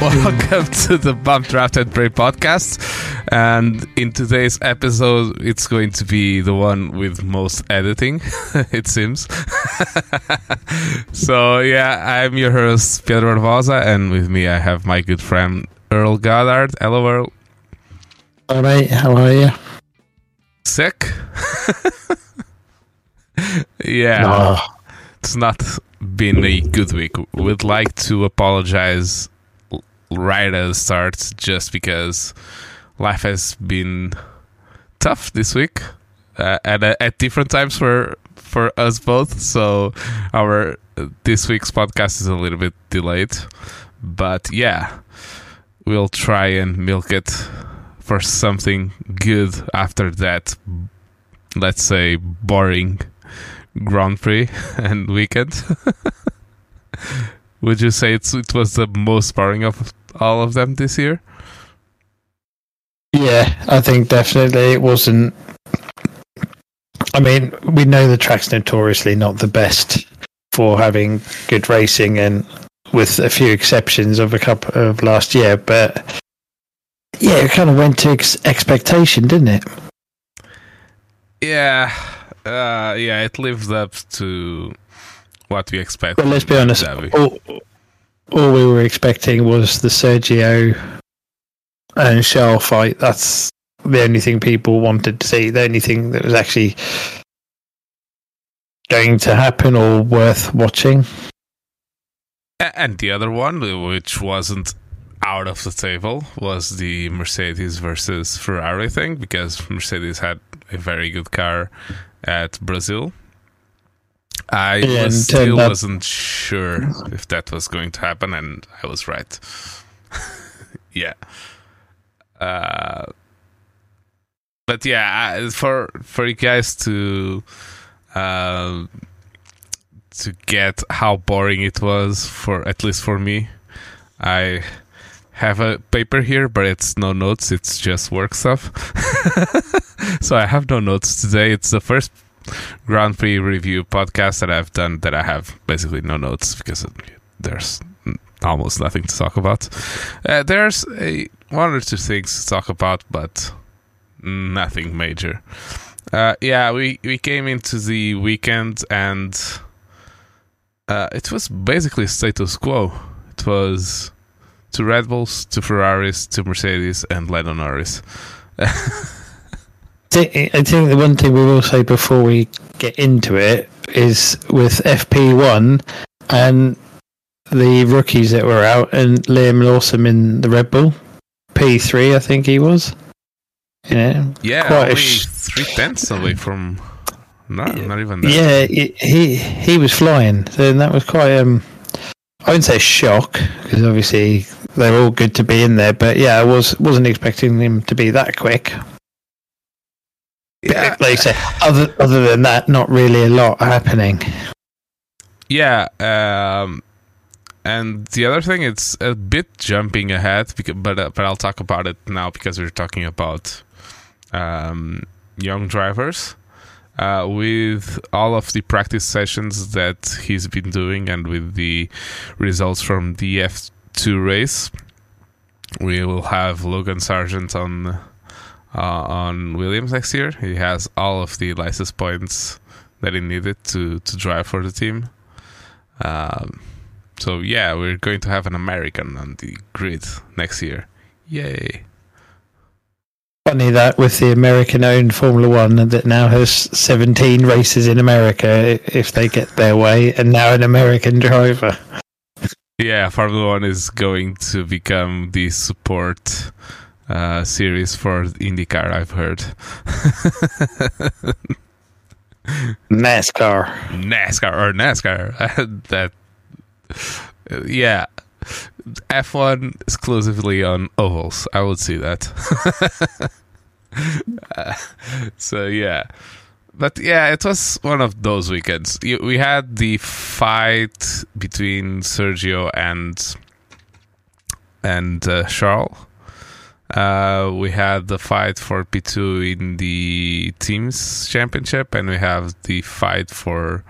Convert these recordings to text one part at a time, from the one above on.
welcome to the Bump Draft and Pray podcast. And in today's episode, it's going to be the one with most editing, it seems. So, yeah, I'm your host, Pedro Barbosa, and with me I have my good friend, Earl Goddard. Hello, Earl. All right, how are you? Sick? Yeah. No. It's not been a good week. We'd like to apologize right at the start just because life has been tough this week at different times for us both. So this week's podcast is a little bit delayed. But yeah, we'll try and milk it for something good after that, let's say, boring Grand Prix and weekend. Would you say it was the most boring of all of them this year? Yeah, I think definitely it wasn't. I mean, we know the track's notoriously not the best for having good racing, and with a few exceptions of a couple of last year, but yeah, it kind of went to expectation, didn't it? Yeah. Yeah, it lived up to what we expected. Well, let's be honest. All we were expecting was the Sergio and Charles fight. That's the only thing people wanted to see. The only thing that was actually going to happen or worth watching. And the other one, which wasn't out of the table, was the Mercedes versus Ferrari thing, because Mercedes had a very good car at Brazil. I wasn't sure if that was going to happen, and I was right. Yeah. But yeah, for you guys to get how boring it was, for at least for me, I have a paper here, but it's no notes, it's just work stuff. So I have no notes today. It's the first Grand Prix review podcast that I've done that I have basically no notes, because there's almost nothing to talk about. There's one or two things to talk about, but nothing major. Yeah, we came into the weekend and it was basically status quo. It was 2 Red Bulls, 2 Ferraris, 2 Mercedes, and Lando Norris. I think the one thing we will say before we get into it is with FP1 and the rookies that were out, and Liam Lawson in the Red Bull P3, I think he was. Yeah, only 3/10 away from. Not even that. Yeah, he was flying. So that was quite. I wouldn't say shock, because obviously they're all good to be in there. But yeah, I wasn't expecting him to be that quick. Yeah, like you say, other than that, not really a lot happening. Yeah, and the other thing, it's a bit jumping ahead, but I'll talk about it now because we're talking about young drivers. With all of the practice sessions that he's been doing, and with the results from the F2 race, we will have Logan Sargent on Williams next year. He has all of the license points that he needed to drive for the team. So yeah, we're going to have an American on the grid next year. Yay. Funny that with the American-owned Formula One that now has 17 races in America if they get their way, and now an American driver. Yeah, Formula One is going to become the support series for IndyCar, I've heard. NASCAR. That, yeah. F1 exclusively on ovals. I would see that. So yeah, but yeah, it was one of those weekends. We had the fight between Sergio and Charles. We had the fight for P2 in the teams championship, and we have the fight for,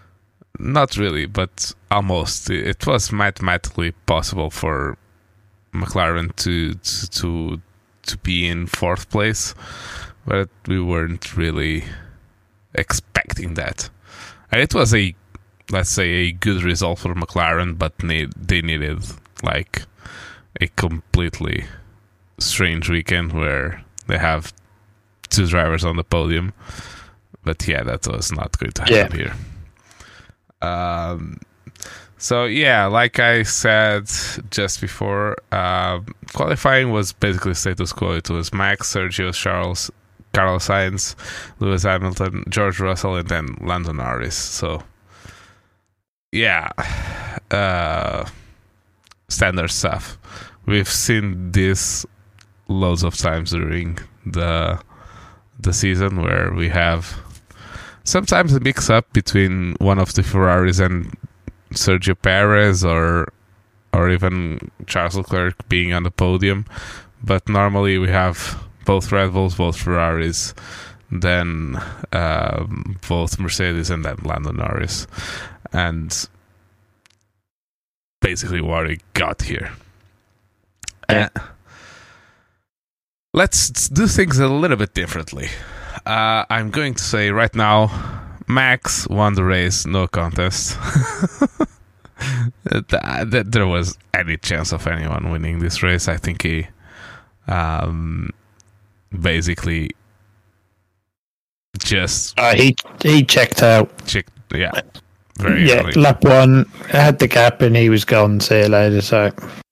not really, but almost. It was mathematically possible for McLaren to be in fourth place, but we weren't really expecting that. And it was let's say a good result for McLaren, but they needed like a completely strange weekend where they have two drivers on the podium. But yeah, that was not going to happen here. So yeah, like I said just before, qualifying was basically status quo. It was Max, Sergio, Charles, Carlos Sainz, Lewis Hamilton, George Russell, and then Lando Norris. So yeah, standard stuff. We've seen this loads of times during the season, where we have sometimes a mix-up between one of the Ferraris and Sergio Perez, or even Charles Leclerc being on the podium. But normally we have both Red Bulls, both Ferraris, then both Mercedes, and then Lando Norris. And basically what we got here. Let's do things a little bit differently. I'm going to say right now, Max won the race, no contest. That there was any chance of anyone winning this race. I think he basically just he checked out. Very early. Lap one had the gap and he was gone. See you later. So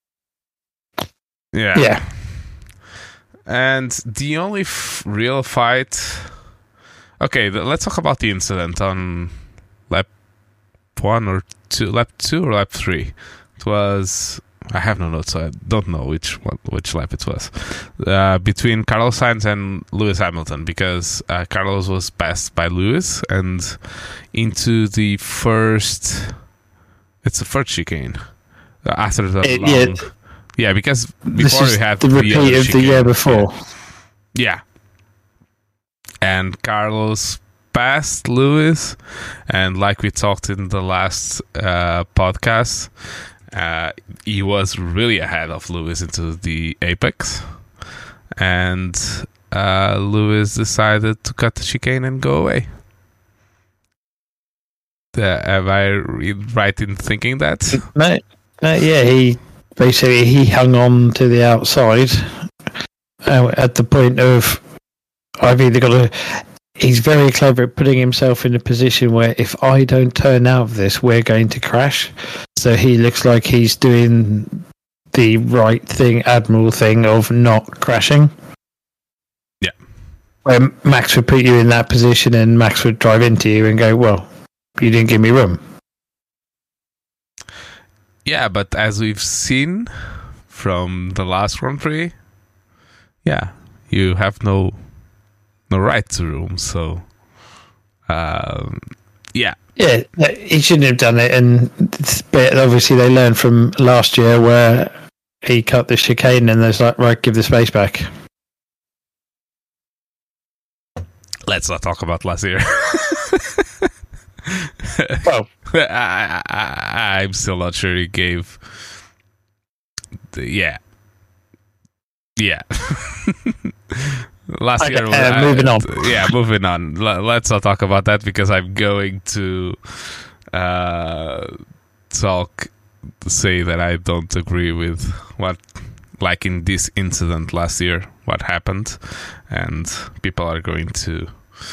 yeah. And the only real fight. Okay, let's talk about the incident on lap 1 or 2, lap 2 or lap 3. It was, I have no notes, so I don't know which lap it was. Between Carlos Sainz and Lewis Hamilton, because Carlos was passed by Lewis and into the first. It's the first chicane after the long. Yeah, because before we had the repeat of the year before. Yeah. And Carlos passed Lewis, and like we talked in the last podcast, he was really ahead of Lewis into the apex, and Lewis decided to cut the chicane and go away. Am I right in thinking that? No, he basically hung on to the outside at the point of, I've either got to. He's very clever at putting himself in a position where if I don't turn out of this, we're going to crash. So he looks like he's doing the right thing, admiral thing of not crashing. Yeah. Where Max would put you in that position and Max would drive into you and go, well, you didn't give me room. Yeah, but as we've seen from the last Grand Prix, yeah, you have no right to room. So, yeah, he shouldn't have done it. But obviously, they learned from last year where he cut the chicane, and there's like, right, give the space back. Let's not talk about last year. Well, I'm still not sure he gave. Yeah. Last year. Moving on. Yeah, moving on. Let's not talk about that because I'm going to say that I don't agree with what, like in this incident last year, what happened, and people are going to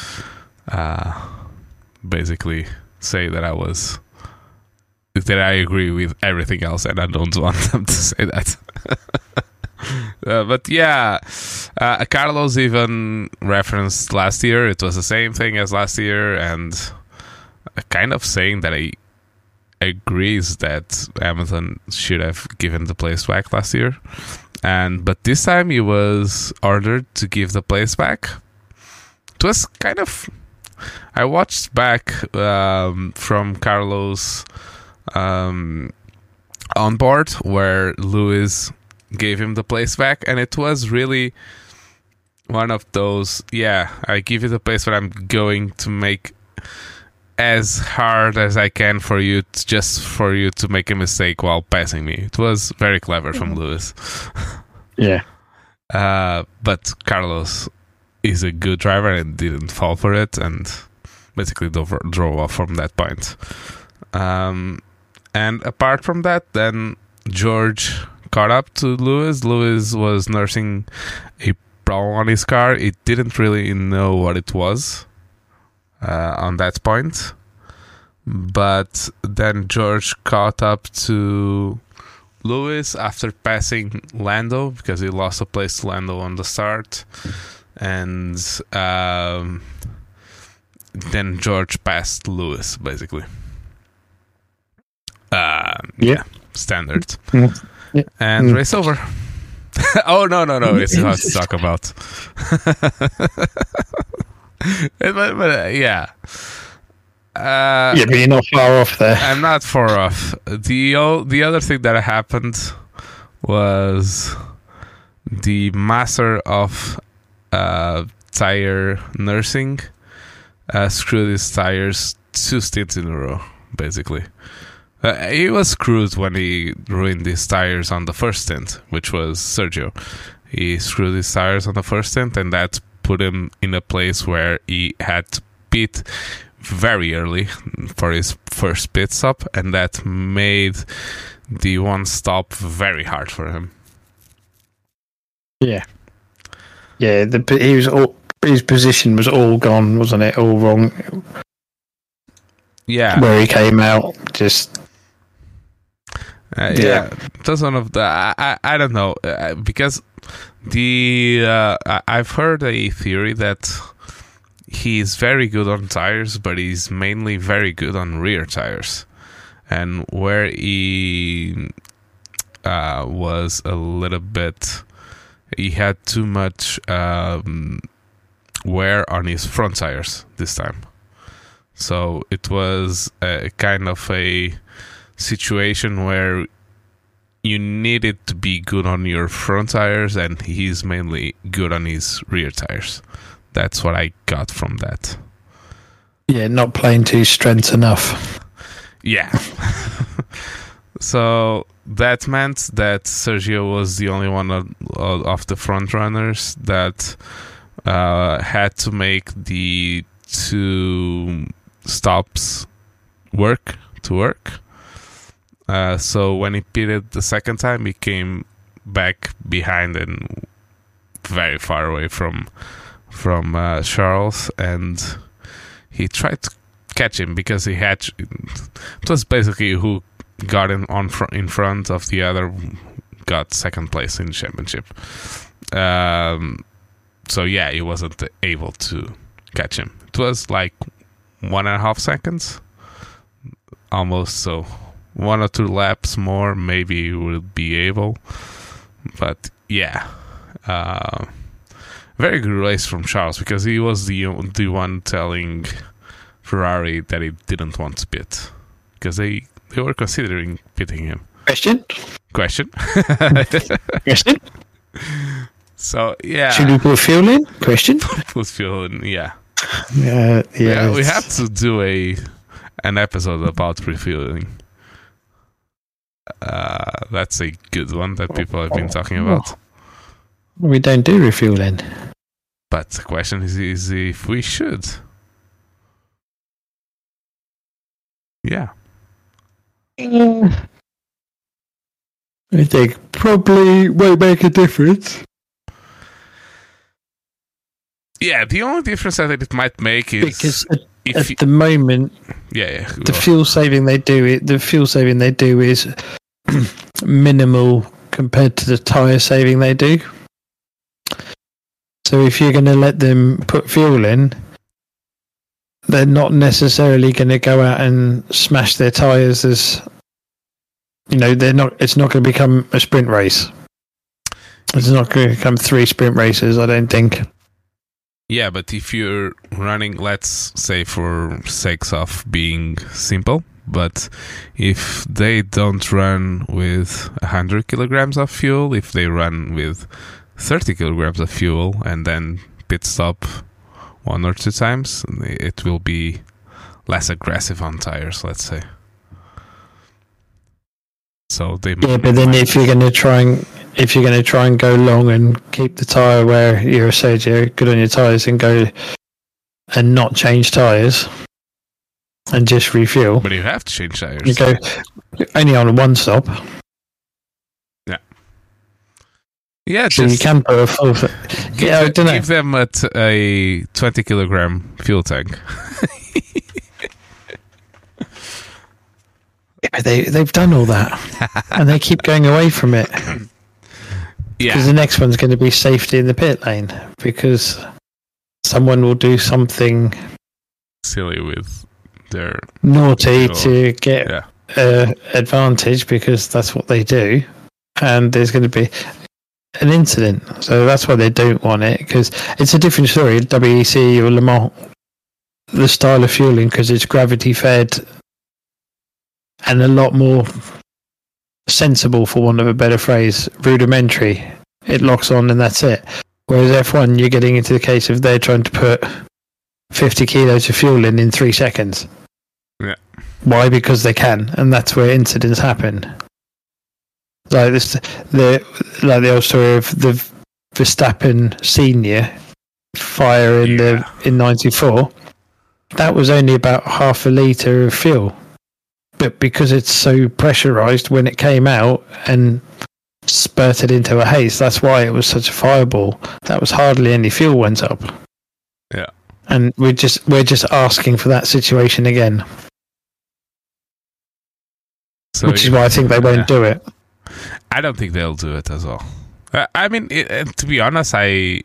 basically say that I agree with everything else, and I don't want them to say that. But yeah, Carlos even referenced last year. It was the same thing as last year, and kind of saying that he agrees that Hamilton should have given the place back last year, but this time he was ordered to give the place back. It was kind of. I watched back from Carlos on board where Lewis gave him the place back, and it was really one of those, I give you the place, but I'm going to make as hard as I can for you to make a mistake while passing me. It was very clever from Lewis. Yeah. But Carlos is a good driver and didn't fall for it, and basically drove off from that point. And apart from that, then George caught up to Lewis. Lewis was nursing a problem on his car. It didn't really know what it was on that point. But then George caught up to Lewis after passing Lando, because he lost a place to Lando on the start. And then George passed Lewis, basically. Yeah, standard. Yeah. And race over. Oh, no. It's hard to talk about. but yeah. Yeah, but you're not far off there. I'm not far off. The other thing that happened was the master of tire nursing screwed his tires 2 stints in a row, basically. He was screwed when he ruined his tires on the first stint, which was Sergio. He screwed his tires on the first stint, and that put him in a place where he had to pit very early for his first pit stop, and that made the one stop very hard for him. Yeah. Yeah, his position was all gone, wasn't it? All wrong. Yeah. Where he came out, just... yeah, that's one of the... I don't know, because I've heard a theory that he's very good on tires, but he's mainly very good on rear tires. And where he was a little bit... He had too much wear on his front tires this time. So it was a kind of a situation where you needed to be good on your front tires, and he's mainly good on his rear tires. That's what I got from that. Yeah, not playing to his strengths enough. Yeah. So that meant that Sergio was the only one of the front runners that had to make the 2 stops work. So when he pitted the second time, he came back behind and very far away from Charles, and he tried to catch him because he had... It was basically who got in front of the other got second place in the championship. So yeah, he wasn't able to catch him. It was like 1.5 seconds, almost. So 1 or 2 laps more, maybe he would be able. But yeah, very good race from Charles, because he was the one telling Ferrari that he didn't want to pit, because they were considering pitting him. Question? Question. So yeah, should we put fuel in? Question. Put fuel in. Yeah. Yeah. We have to do an episode about refueling. That's a good one that people have been talking about. We don't do refueling. But the question is if we should. Yeah. I think probably won't make a difference. Yeah, the only difference I think it might make is because at the moment, the fuel saving they do is minimal compared to the tyre saving they do. So if you're going to let them put fuel in, they're not necessarily going to go out and smash their tyres as, they're not. It's not going to become a sprint race. It's not going to become 3 sprint races, I don't think. Yeah, but if you're running, let's say for sakes of being simple, but if they don't run with 100 kilograms of fuel, if they run with 30 kilograms of fuel and then pit stop 1 or 2 times, it will be less aggressive on tires, let's say. So they but then if you're going to try and go long and keep the tire where you're Sergio, good on your tires, and go and not change tires and just refuel. But you have to change tires. You go only on one stop. Yeah, so you can put a full. I don't know. Give them a 20-kilogram fuel tank. They've done all that, and they keep going away from it. Because the next one's going to be safety in the pit lane, because someone will do something silly with their naughty to get advantage, because that's what they do, and there's going to be an incident. So that's why they don't want it, because it's a different story. WEC or Le Mans, the style of fueling, because it's gravity fed and a lot more sensible, for want of a better phrase, rudimentary. It locks on and that's it. Whereas F1, you're getting into the case of they're trying to put 50 kilos of fuel in 3 seconds. Yeah. Why? Because they can, and that's where incidents happen. Like the old story of the Verstappen Senior fire in '94. That was only about half a litre of fuel. But because it's so pressurized when it came out and spurted into a haze, that's why it was such a fireball. That was hardly any fuel went up. Yeah. And we're just asking for that situation again. So, which is why I think they won't do it. I don't think they'll do it as well. I mean, to be honest, I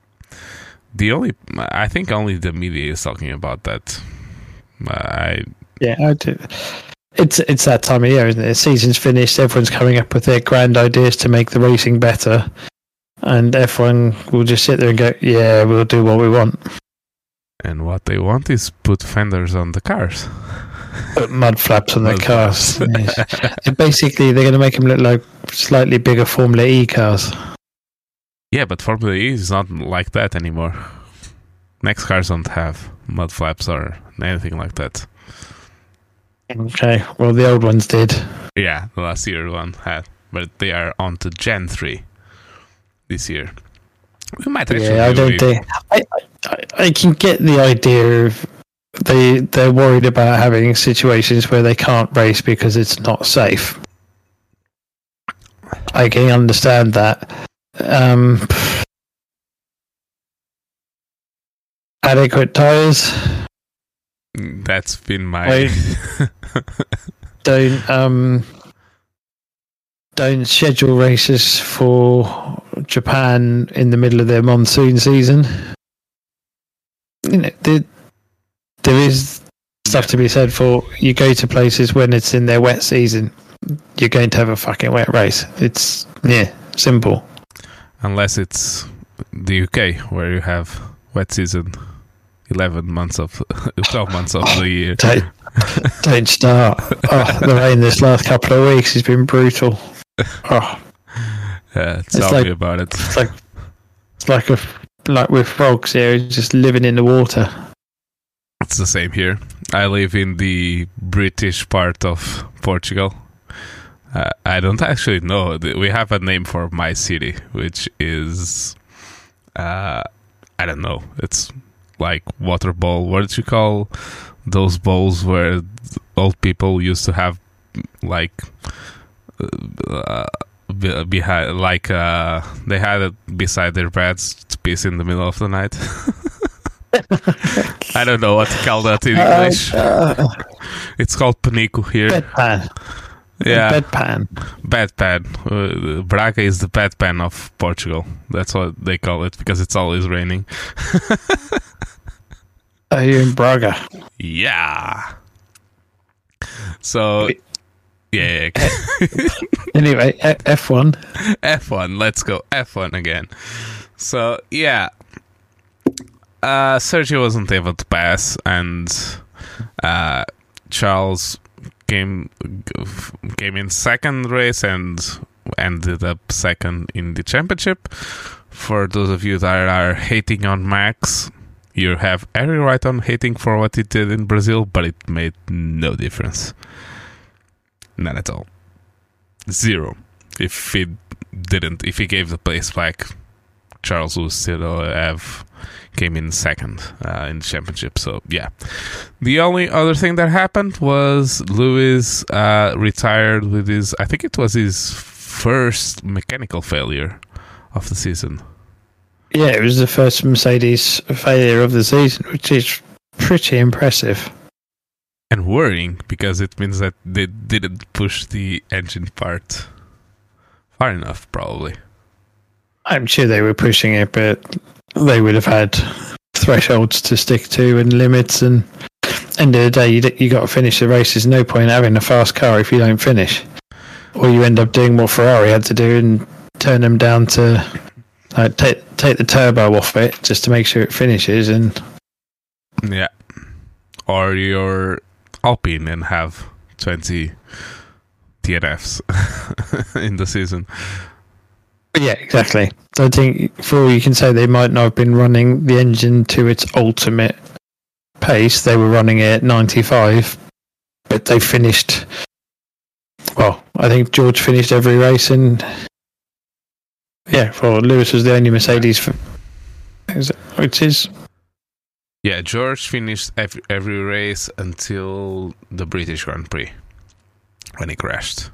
think only the media is talking about that. I do. It's that time of year, isn't it? The season's finished. Everyone's coming up with their grand ideas to make the racing better, and F1 will just sit there and go, "Yeah, we'll do what we want." And what they want is put fenders on the cars, put mud flaps on their cars. And basically, they're going to make them look like slightly bigger Formula E cars. Yeah, but Formula E is not like that anymore. Next cars don't have mud flaps or anything like that. Okay, well, the old ones did. Yeah, the last year one had, but they are on to Gen 3 this year. We might actually. Yeah, I don't think. I can get the idea of they're worried about having situations where they can't race because it's not safe. I can understand that. Adequate tires. That's been my. Don't schedule races for Japan in the middle of their monsoon season. You know, there is stuff to be said for you go to places when it's in their wet season. You're going to have a fucking wet race. It's simple. Unless it's the UK where you have wet season. 12 months of the year. Don't start. The rain this last couple of weeks has been brutal. Tell me about it. It's like with frogs here, just living in the water. It's the same here. I live in the British part of Portugal. I don't actually know. We have a name for my city, which is I don't know. It's like water bowl. What did you call those bowls where old people used to have like behind, like they had it beside their beds to piss in the middle of the night? I don't know what to call that in English. It's called penico here. Bedpan. Yeah, bedpan. Braga is the bedpan of Portugal. That's what they call it because it's always raining. Are you in Braga? Yeah. So, yeah. Anyway, F1. F1. Let's go F1 again. So, yeah. Sergio wasn't able to pass, and Charles came in second race and ended up second in the championship. For those of you that are hating on Max, You have every right on hating for what he did in Brazil, but it made no difference. None at all. Zero. If he gave the place back, Charles would still have came in second in the championship. So yeah, the only other thing that happened was Lewis retired with I think it was his first mechanical failure of the season. Yeah, it was the first Mercedes failure of the season, which is pretty impressive. And worrying, because it means that they didn't push the engine part far enough, probably. I'm sure they were pushing it, but they would have had thresholds to stick to and limits. And end of the day, you got to finish the race. There's no point having a fast car if you don't finish. Or you end up doing what Ferrari had to do and turn them down to take the turbo off it just to make sure it finishes. And yeah, or you're Alpine and have 20 DNFs in the season. Yeah, exactly. I think for all you can say, they might not have been running the engine to its ultimate pace. They were running it at 95, but they finished. Well, I think George finished every race, and Lewis was the only Mercedes. Which is. Yeah, George finished every race until the British Grand Prix when he crashed.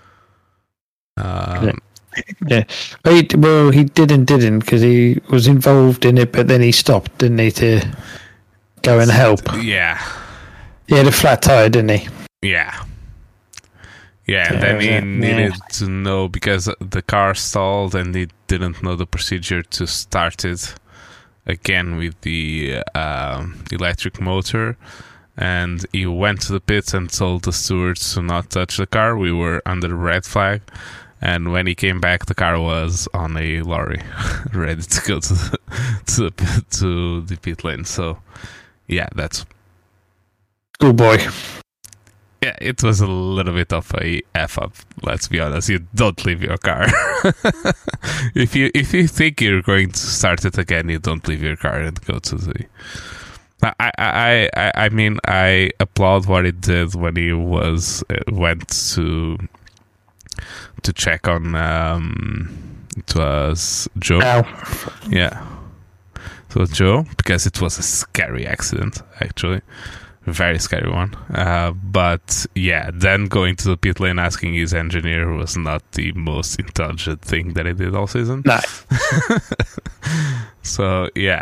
Yeah, he didn't because he was involved in it, but then he stopped, didn't he, to go and help? Yeah. He had a flat tire, didn't he? Yeah. Yeah, and then he needed to know, because the car stalled and he didn't know the procedure to start it again with the electric motor. And he went to the pits and told the stewards to not touch the car. We were under the red flag. And when he came back, the car was on a lorry, ready to go to the pit lane. So, yeah, that's good boy. Yeah, it was a little bit of a f up. Let's be honest. You don't leave your car. If you think you're going to start it again, you don't leave your car and go to the. I mean, I applaud what he did when he went to check on it was Joe. Ow. Yeah, so Joe, because it was a scary accident, actually, a very scary one. But yeah, then going to the pit lane asking his engineer was not the most intelligent thing that he did all season. No. So yeah.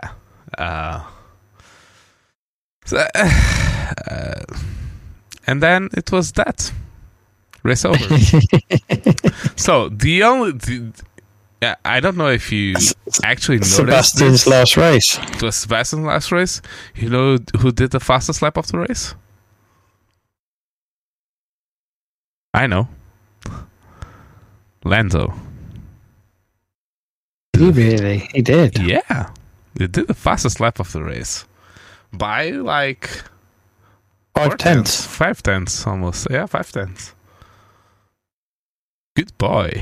And then it was that. Race over. So I don't know if you actually noticed Sebastian's last race. It was Sebastian's last race. You know who did the fastest lap of the race? I know. Lando. Really? He did? Yeah. He did the fastest lap of the race. By like 5/10. 5/10 almost. Yeah, 5/10. Good boy.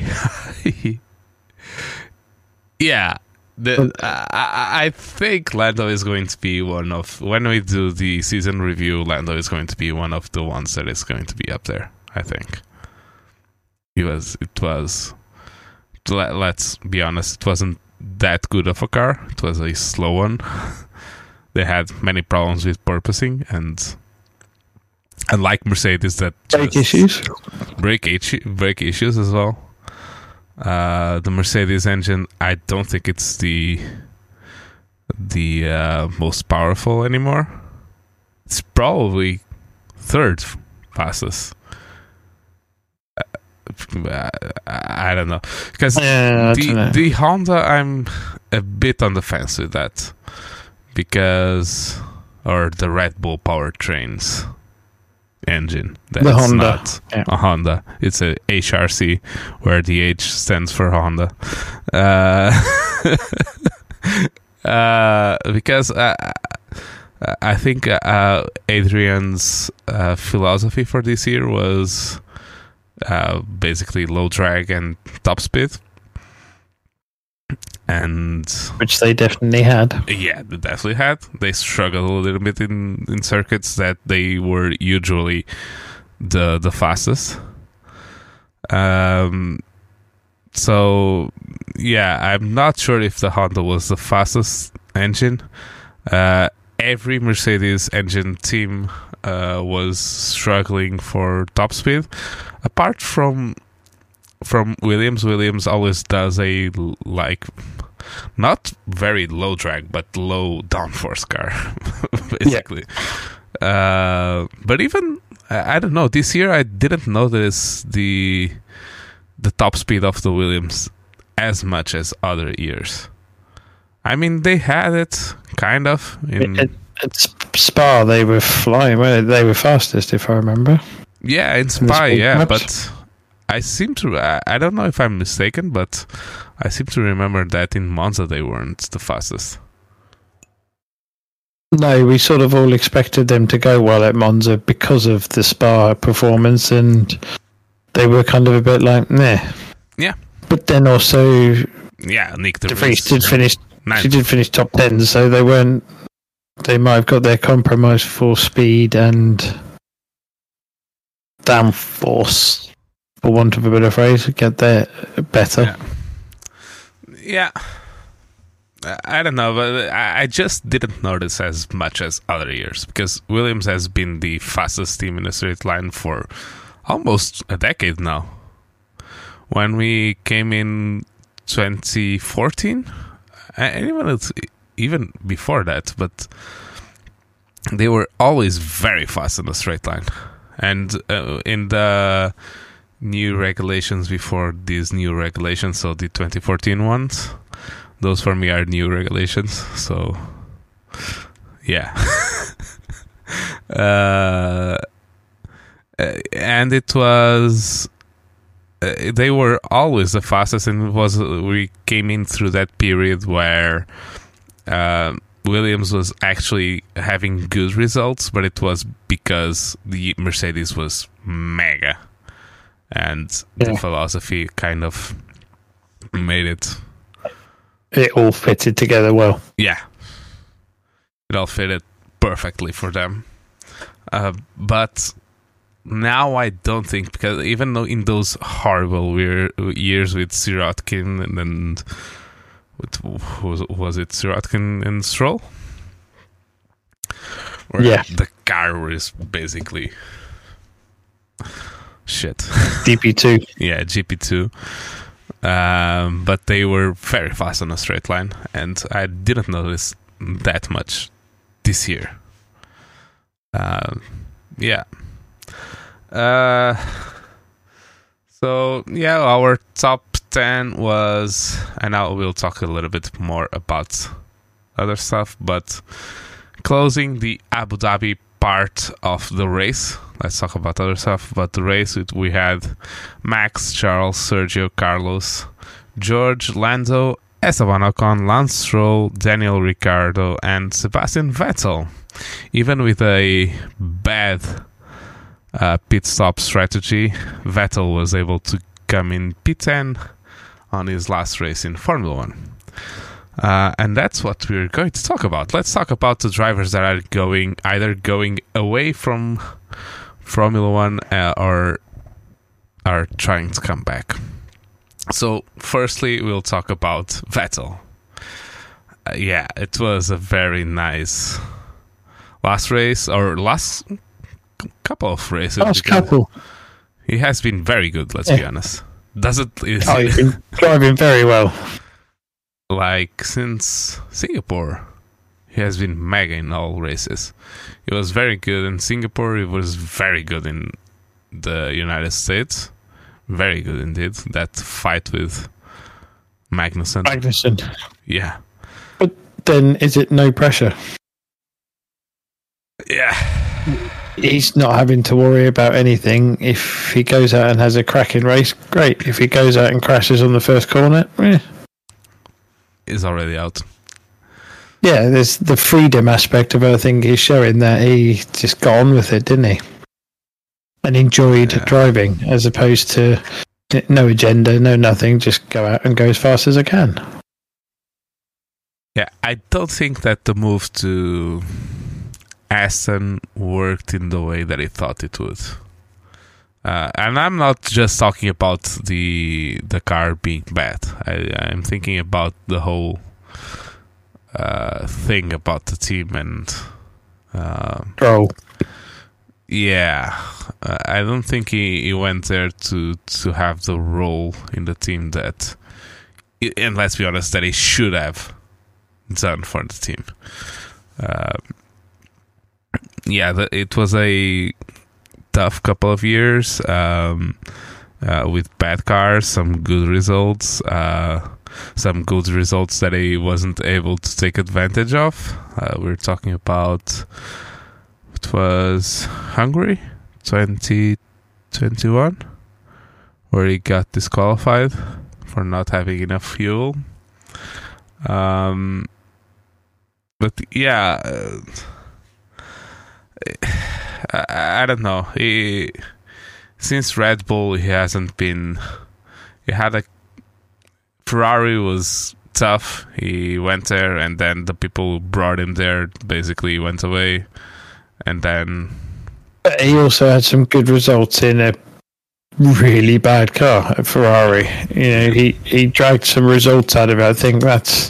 Yeah. I think Lando is going to be one of, when we do the season review, Lando is going to be one of the ones that is going to be up there, I think. Let's be honest, it wasn't that good of a car. It was a slow one. They had many problems with purposing, and unlike Mercedes, that brake issues as well. The Mercedes engine, I don't think it's the most powerful anymore. It's probably third fastest. I don't know, because the Honda, I'm a bit on the fence with that, because or the Red Bull powertrains engine. That's the Honda. Not a Honda. It's a HRC, where the H stands for Honda. Because I think Adrian's philosophy for this year was basically low drag and top speed. and which they definitely had. yeah, they definitely had. They struggled a little bit in circuits that they were usually the fastest. So yeah, I'm not sure if the Honda was the fastest engine. Every Mercedes engine team was struggling for top speed, apart from Williams. Williams always does a not very low drag but low downforce car, basically. Yeah. But even I don't know, this year I didn't notice the top speed of the Williams as much as other years. I mean, they had it kind of at Spa. They were flying. They were fastest, if I remember. Yeah, in Spa, yeah, but I seem to. I don't know if I'm mistaken, but I seem to remember that in Monza they weren't the fastest. No, we sort of all expected them to go well at Monza because of the Spa performance, and they were kind of a bit like, meh. Yeah. But then also, yeah, Nick de Vries did finish. She did finish top 10, so they weren't. They might have got their compromise for speed and downforce, for want of a better phrase, get there better. Yeah. I don't know, but I just didn't notice as much as other years because Williams has been the fastest team in a straight line for almost a decade now. When we came in 2014, and even before that, but they were always very fast in the straight line. And in the new regulations before these new regulations, so the 2014 ones, those for me are new regulations. So, yeah. And it was... they were always the fastest, and we came in through that period where Williams was actually having good results, but it was because the Mercedes was mega, and the philosophy kind of made it. It all fitted together well. Yeah, it all fitted perfectly for them, but. Now I don't think, because even though in those horrible years with Sirotkin and was it Sirotkin and Stroll? Where the car was basically shit. GP2. Yeah, GP2. But they were very fast on a straight line, and I didn't notice that much this year. Yeah. So yeah, our top 10 was, and now we'll talk a little bit more about other stuff, but closing the Abu Dhabi part of the race, let's talk about other stuff. But the race, we had Max, Charles, Sergio, Carlos, George, Lando, Esteban Ocon, Lance Stroll, Daniel Ricciardo, and Sebastian Vettel. Even with a bad pit stop strategy, Vettel was able to come in P10 on his last race in Formula 1. And that's what we're going to talk about. Let's talk about the drivers that are either going away from Formula 1 or are trying to come back. So firstly, we'll talk about Vettel. Yeah, it was a very nice last race, or last couple of races. He has been very good, let's be honest. He's been driving very well. Like since Singapore, he has been mega in all races. He was very good in Singapore. He was very good in the United States. Very good indeed. That fight with Magnussen. Yeah. But then, is it no pressure? Yeah. He's not having to worry about anything. If he goes out and has a cracking race, great. If he goes out and crashes on the first corner, he's already out. Yeah, there's the freedom aspect of it. I think he's showing that he just got on with it, didn't he? And enjoyed driving, as opposed to no agenda, no nothing, just go out and go as fast as I can. Yeah, I don't think that the move to Aston worked in the way that he thought it would. And I'm not just talking about the car being bad. I'm thinking about the whole thing about the team and yeah, I don't think he went there to have the role in the team that, and let's be honest, that he should have done for the team. It was a tough couple of years with bad cars, some good results that he wasn't able to take advantage of. We're talking about, it was Hungary 2021, where he got disqualified for not having enough fuel. But yeah, I don't know. Since Red Bull, he hasn't been. Ferrari was tough. He went there, and then the people who brought him there basically went away, and then he also had some good results in a really bad car at Ferrari. He dragged some results out of it. I think that's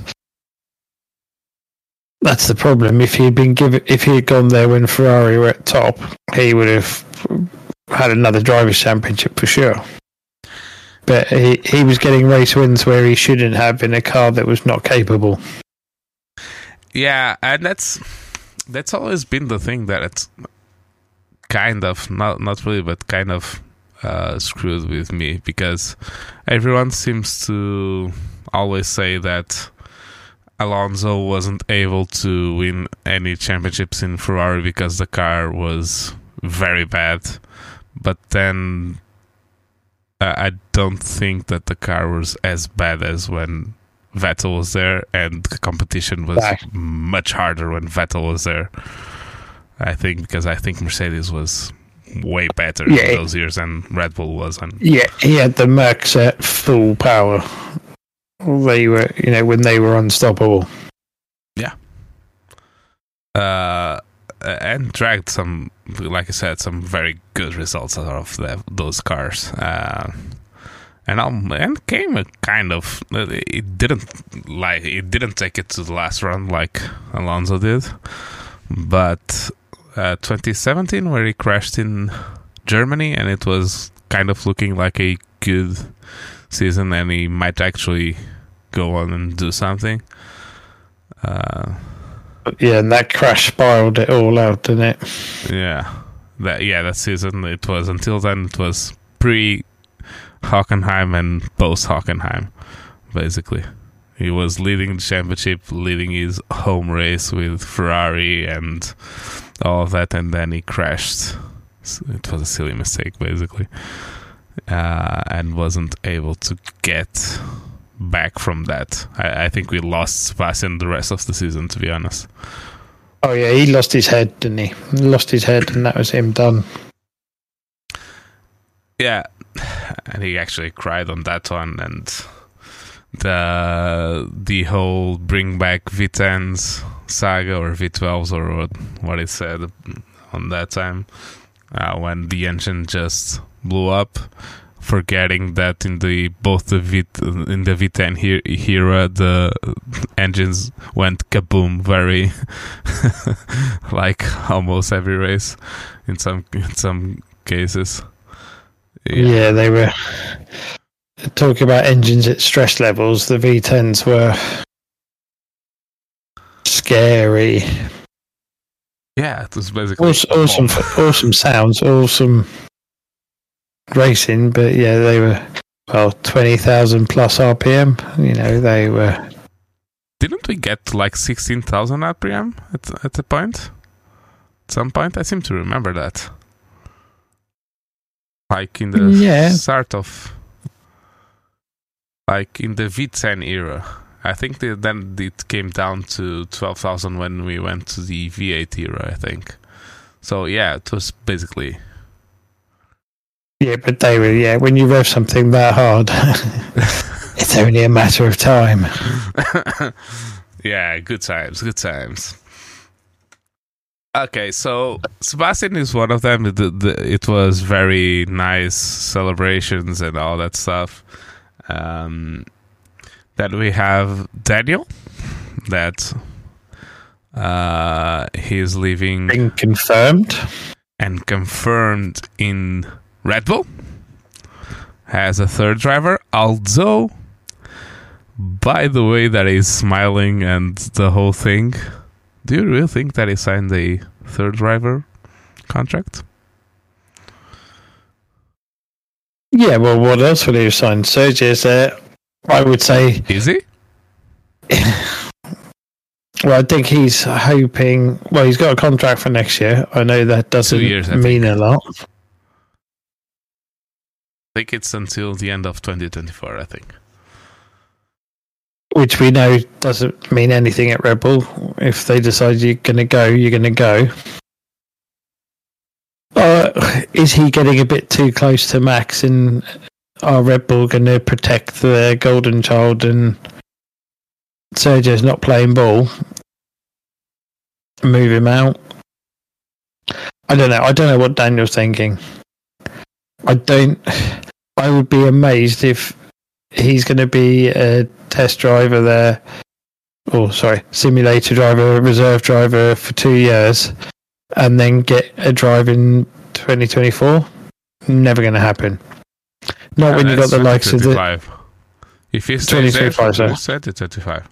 the problem. If he had gone there when Ferrari were at top, he would have had another drivers' championship for sure. But he was getting race wins where he shouldn't have in a car that was not capable. Yeah, and that's always been the thing, that it's kind of not really, but kind of screwed with me, because everyone seems to always say that Alonso wasn't able to win any championships in Ferrari because the car was very bad. But then I don't think that the car was as bad as when Vettel was there, and the competition was much harder when Vettel was there. I think Mercedes was way better in those years than Red Bull was. Yeah, he had the Mercs at full power. They were, when they were unstoppable. Yeah. And dragged some, like I said, some very good results out of those cars. And came a kind of, it didn't take it to the last run like Alonso did, but 2017, where he crashed in Germany, and it was kind of looking like a good season, and he might actually go on and do something. And that crash spiraled it all out, didn't it? Yeah, that season, it was, until then, it was pre-Hockenheim and post-Hockenheim, basically. He was leading the championship, leading his home race with Ferrari and all of that, and then he crashed. It was a silly mistake, basically, and wasn't able to get back from that. I think we lost Sebastian the rest of the season, to be honest. Oh yeah, he lost his head, didn't he? He lost his head, and that was him done. Yeah, and he actually cried on that one, and the whole bring back V10s saga, or V12s, or what it said on that time, when the engine just blew up, forgetting that in the V10 era, the engines went kaboom very like almost every race in some cases. Yeah, they were talking about engines at stress levels. The V10s were scary. Yeah, it was basically awesome sounds, awesome racing, but yeah, they were 20,000 plus RPM. They were. Didn't we get to like 16,000 RPM at a point? At some point, I seem to remember that. Like in the start of, like in the V10 era. I think then it came down to 12,000 when we went to the V8 era, I think. So yeah, it was basically. Yeah, but they were, when you rev something that hard, it's only a matter of time. Yeah, good times, good times. Okay, so Sebastian is one of them. It was very nice celebrations and all that stuff. Then we have Daniel, that he's leaving Being confirmed. and confirmed in Red Bull as a third driver. Although, by the way that he's smiling and the whole thing, do you really think that he signed a third driver contract? Yeah, well, what else would he have signed? Sergio's there. I would say. Is he? Well, I think he's hoping. Well, he's got a contract for next year. I know that doesn't 2 years, I mean think. a lot. I think it's until the end of 2024, I think. Which we know doesn't mean anything at Red Bull. If they decide you're going to go, you're going to go. Is he getting a bit too close to Max? And are Red Bull going to protect their golden child and Sergio's not playing ball? Move him out? I don't know. I don't know what Daniel's thinking. I would be amazed if he's going to be a test driver there, simulator driver, reserve driver for 2 years, and then get a drive in 2024. Never going to happen. Not when you got the likes of the. If he stays there, 2025, 2025.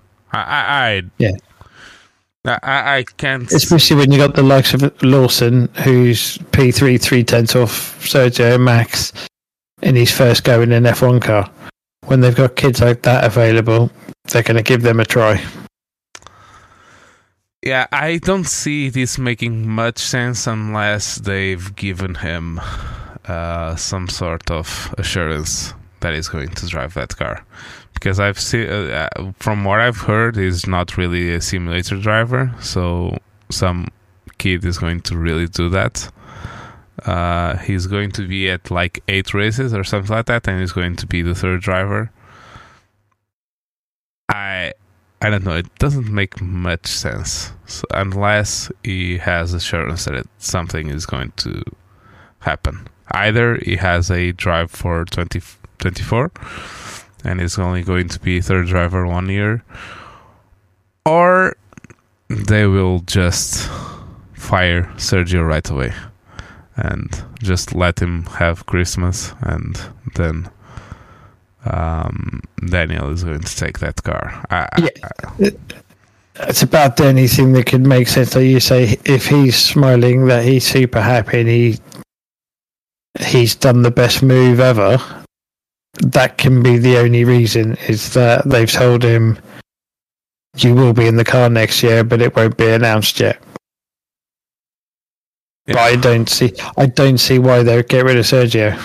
I can't. Especially when you got the likes of Lawson, who's P3 3/10 off Sergio Max in his first go in an F1 car. When they've got kids like that available, they're going to give them a try. Yeah, I don't see this making much sense unless they've given him some sort of assurance that he's going to drive that car. Because I've seen, from what I've heard, he's not really a simulator driver, so some kid is going to really do that. He's going to be at like 8 races or something like that, and he's going to be the third driver. I don't know. It doesn't make much sense unless he has assurance that something is going to happen. Either he has a drive for 2024 and is only going to be third driver 1 year, or they will just fire Sergio right away and just let him have Christmas, and then Daniel is going to take that car. It's about the only thing that could make sense. Like you say, if he's smiling that he's super happy and he's done the best move ever, that can be the only reason, is that they've told him you will be in the car next year, but it won't be announced yet. Yeah. But I don't see why they would get rid of Sergio.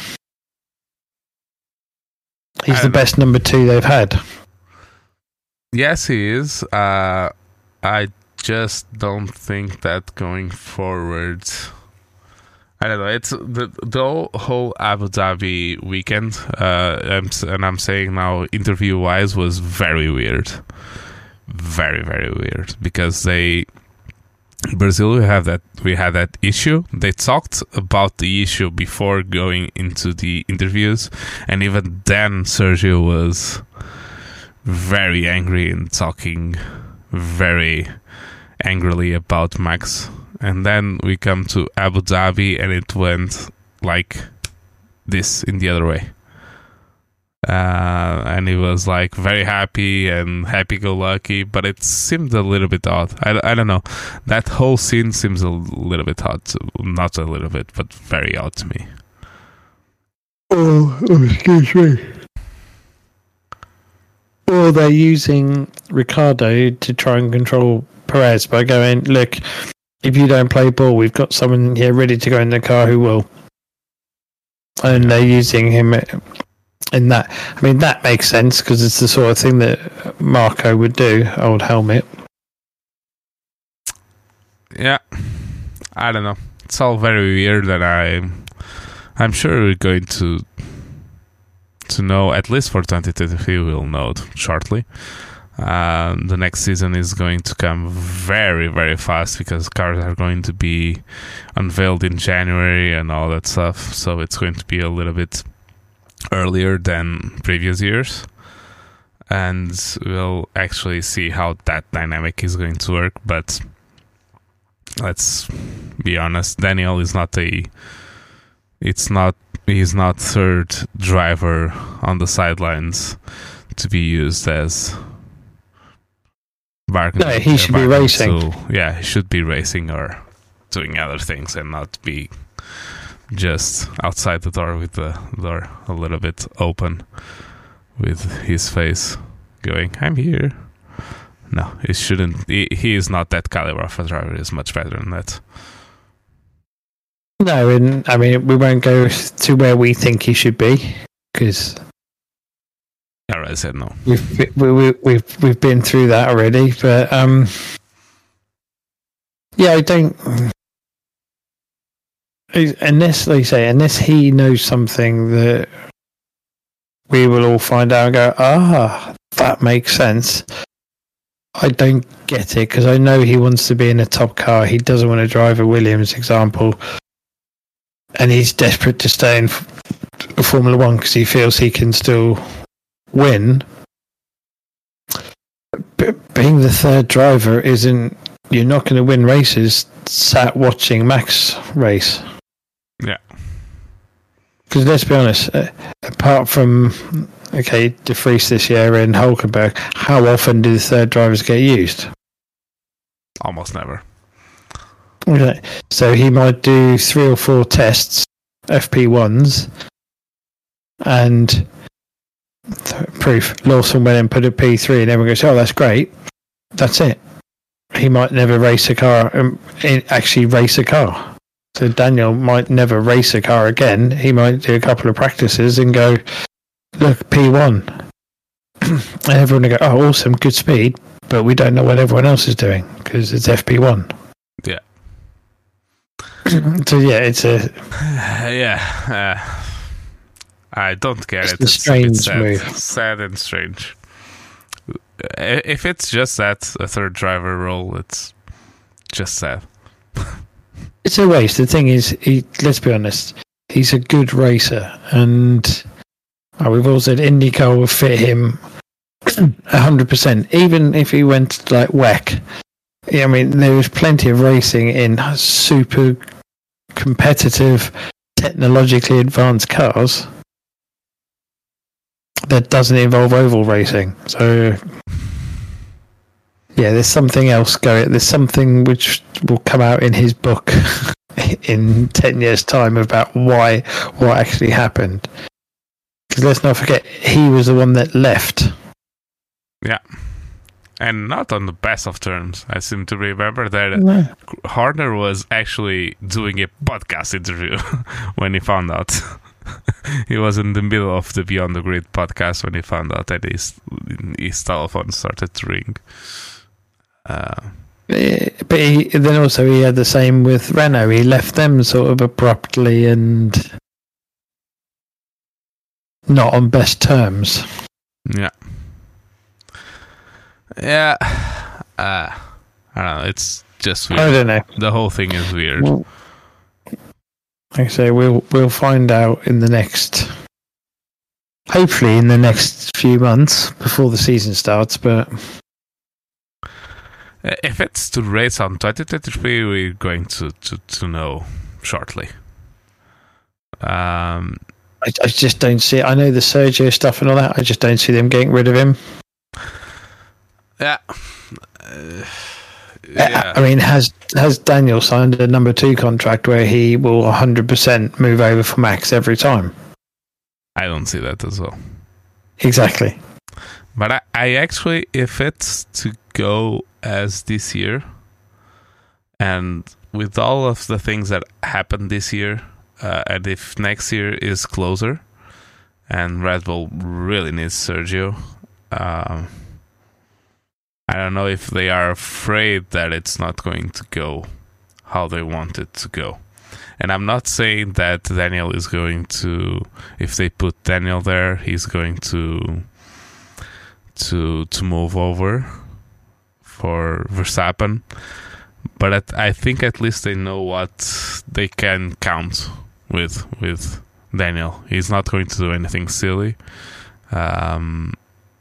He's the best number 2 they've had. Yes, he is. I just don't think that going forward. I don't know. It's the whole Abu Dhabi weekend, I'm saying now, interview-wise, was very weird. Very, very weird. Because Brazil, we had that issue. They talked about the issue before going into the interviews, and even then Sergio was very angry and talking very angrily about Max. And then we come to Abu Dhabi and it went like this in the other way. And he was like very happy and happy-go-lucky, but it seemed a little bit odd. I don't know. That whole scene seems a little bit odd. Not a little bit, but very odd to me. Oh, excuse me. Or they're using Ricardo to try and control Perez by going, look, if you don't play ball, we've got someone here ready to go in the car who will. And they're using him in that. I mean, that makes sense because it's the sort of thing that Marco would do, old Helmet. Yeah. I don't know. It's all very weird, and I'm sure we're going to know, at least for 2023, we'll know shortly. The next season is going to come very, very fast because cars are going to be unveiled in January and all that stuff. So it's going to be a little bit earlier than previous years. And we'll actually see how that dynamic is going to work. But let's be honest, Daniel is he's not third driver on the sidelines to be used as no, he should be racing. Yeah, he should be racing or doing other things and not be just outside the door with the door a little bit open with his face going, I'm here. No, he shouldn't. He is not that caliber of a driver. He's much better than that. No, and I mean, we won't go to where we think he should be because I said no. We've been through that already, but yeah, I don't. Unless, like you say, unless he knows something that we will all find out and go, that makes sense. I don't get it because I know he wants to be in a top car. He doesn't want to drive a Williams, example, and he's desperate to stay in Formula One because he feels he can still win. But being the third driver isn't. You're not going to win races sat watching Max race. Yeah. Because let's be honest, apart from De Vries this year and Hulkenberg, how often do the third drivers get used? Almost never. Okay. So he might do 3 or 4 tests, FP1s, and proof. Lawson went and put a P3 and everyone goes, oh, that's great. That's it. He might never race a car, actually race a car. So Daniel might never race a car again. He might do a couple of practices and go, look, P1. And everyone will go, oh, awesome, good speed. But we don't know what everyone else is doing because it's FP1. Yeah. So yeah, it's a... I don't get it. It's a strange move. Sad and strange. If it's just that, a third driver role, it's just sad. It's a waste. The thing is, let's be honest, he's a good racer, and we've all said IndyCar will fit him 100%. Even if he went like WEC, I mean, there is plenty of racing in super competitive, technologically advanced cars that doesn't involve oval racing. So yeah, there's something else going. There's something which will come out in his book in 10 years' time about what actually happened. Because let's not forget, he was the one that left. Yeah. And not on the best of terms. I seem to remember that Horner was actually doing a podcast interview when he found out. He was in the middle of the Beyond the Grid podcast when he found out that his telephone started to ring. But then also he had the same with Renault. He left them sort of abruptly and not on best terms. Yeah. Yeah. I don't know. It's just weird. I don't know. The whole thing is weird. Well, like I say, we'll find out hopefully in the next few months before the season starts. But if it's to race on 2023, we're going to know shortly. I just don't see it. I know the Sergio stuff and all that. I just don't see them getting rid of him. Yeah. I mean, has Daniel signed a number 2 contract where he will 100% move over for Max every time? I don't see that as well. Exactly. But I actually, if it's to go as this year, and with all of the things that happened this year, and if next year is closer, and Red Bull really needs Sergio, I don't know if they are afraid that it's not going to go how they want it to go. And I'm not saying that Daniel is going to, if they put Daniel there, he's going to to move over for Verstappen, but I think at least they know what they can count with Daniel. He's not going to do anything silly, and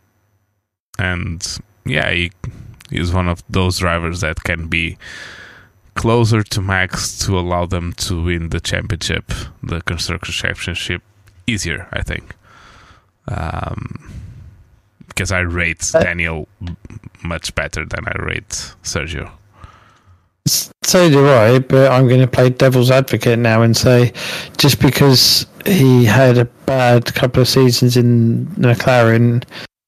yeah, he's one of those drivers that can be closer to Max to allow them to win the championship, the Constructors' Championship, easier, I think. Because I rate Daniel much better than I rate Sergio. So do I, but I'm going to play devil's advocate now and say just because he had a bad couple of seasons in McLaren,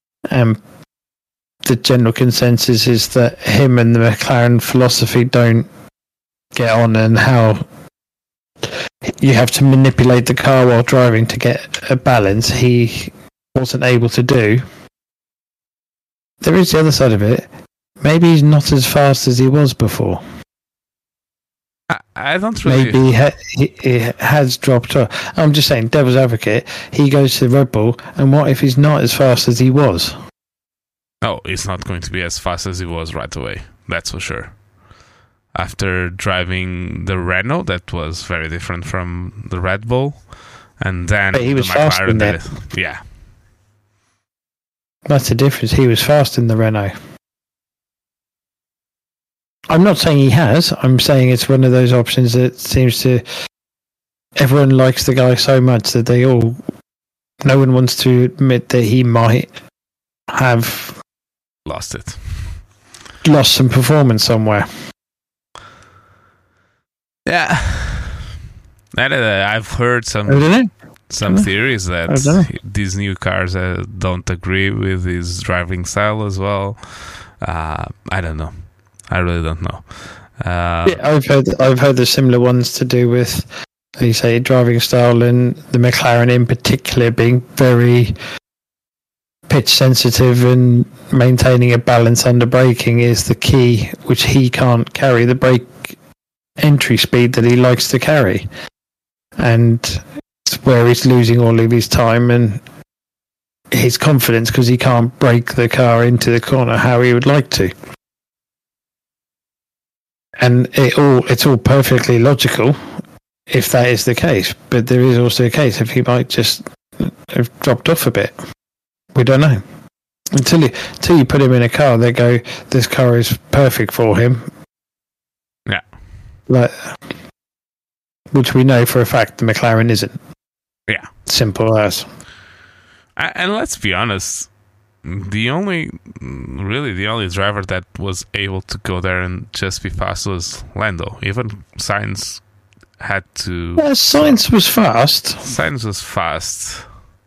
the general consensus is that him and the McLaren philosophy don't get on, and how you have to manipulate the car while driving to get a balance he wasn't able to do. There is the other side of it. Maybe he's not as fast as he was before. I don't really... Maybe he has dropped off. I'm just saying, devil's advocate, he goes to Red Bull, and what if he's not as fast as he was? Oh, he's not going to be as fast as he was right away. That's for sure. After driving the Renault, that was very different from the Red Bull. And then but he was the fast in McLaren that. Yeah. That's the difference. He was fast in the Renault. I'm not saying he has. I'm saying it's one of those options that seems to... Everyone likes the guy so much that no one wants to admit that he might have... Lost some performance somewhere. Yeah. I've heard some theories that these new cars don't agree with his driving style as well. I don't know. I really don't know. I've heard the similar ones to do with, like you say, driving style, and the McLaren in particular being very pitch sensitive, and maintaining a balance under braking is the key, which he can't carry the brake entry speed that he likes to carry, and it's where he's losing all of his time and his confidence because he can't brake the car into the corner how he would like to. And it's all perfectly logical if that is the case, but there is also a case if he might just have dropped off a bit. We don't know until you put him in a car. They go, this car is perfect for him. Yeah, which we know for a fact the McLaren isn't. Yeah, simple as. And let's be honest, the only driver that was able to go there and just be fast was Lando. Even Sainz had to... Yeah, Sainz was fast. Sainz was fast.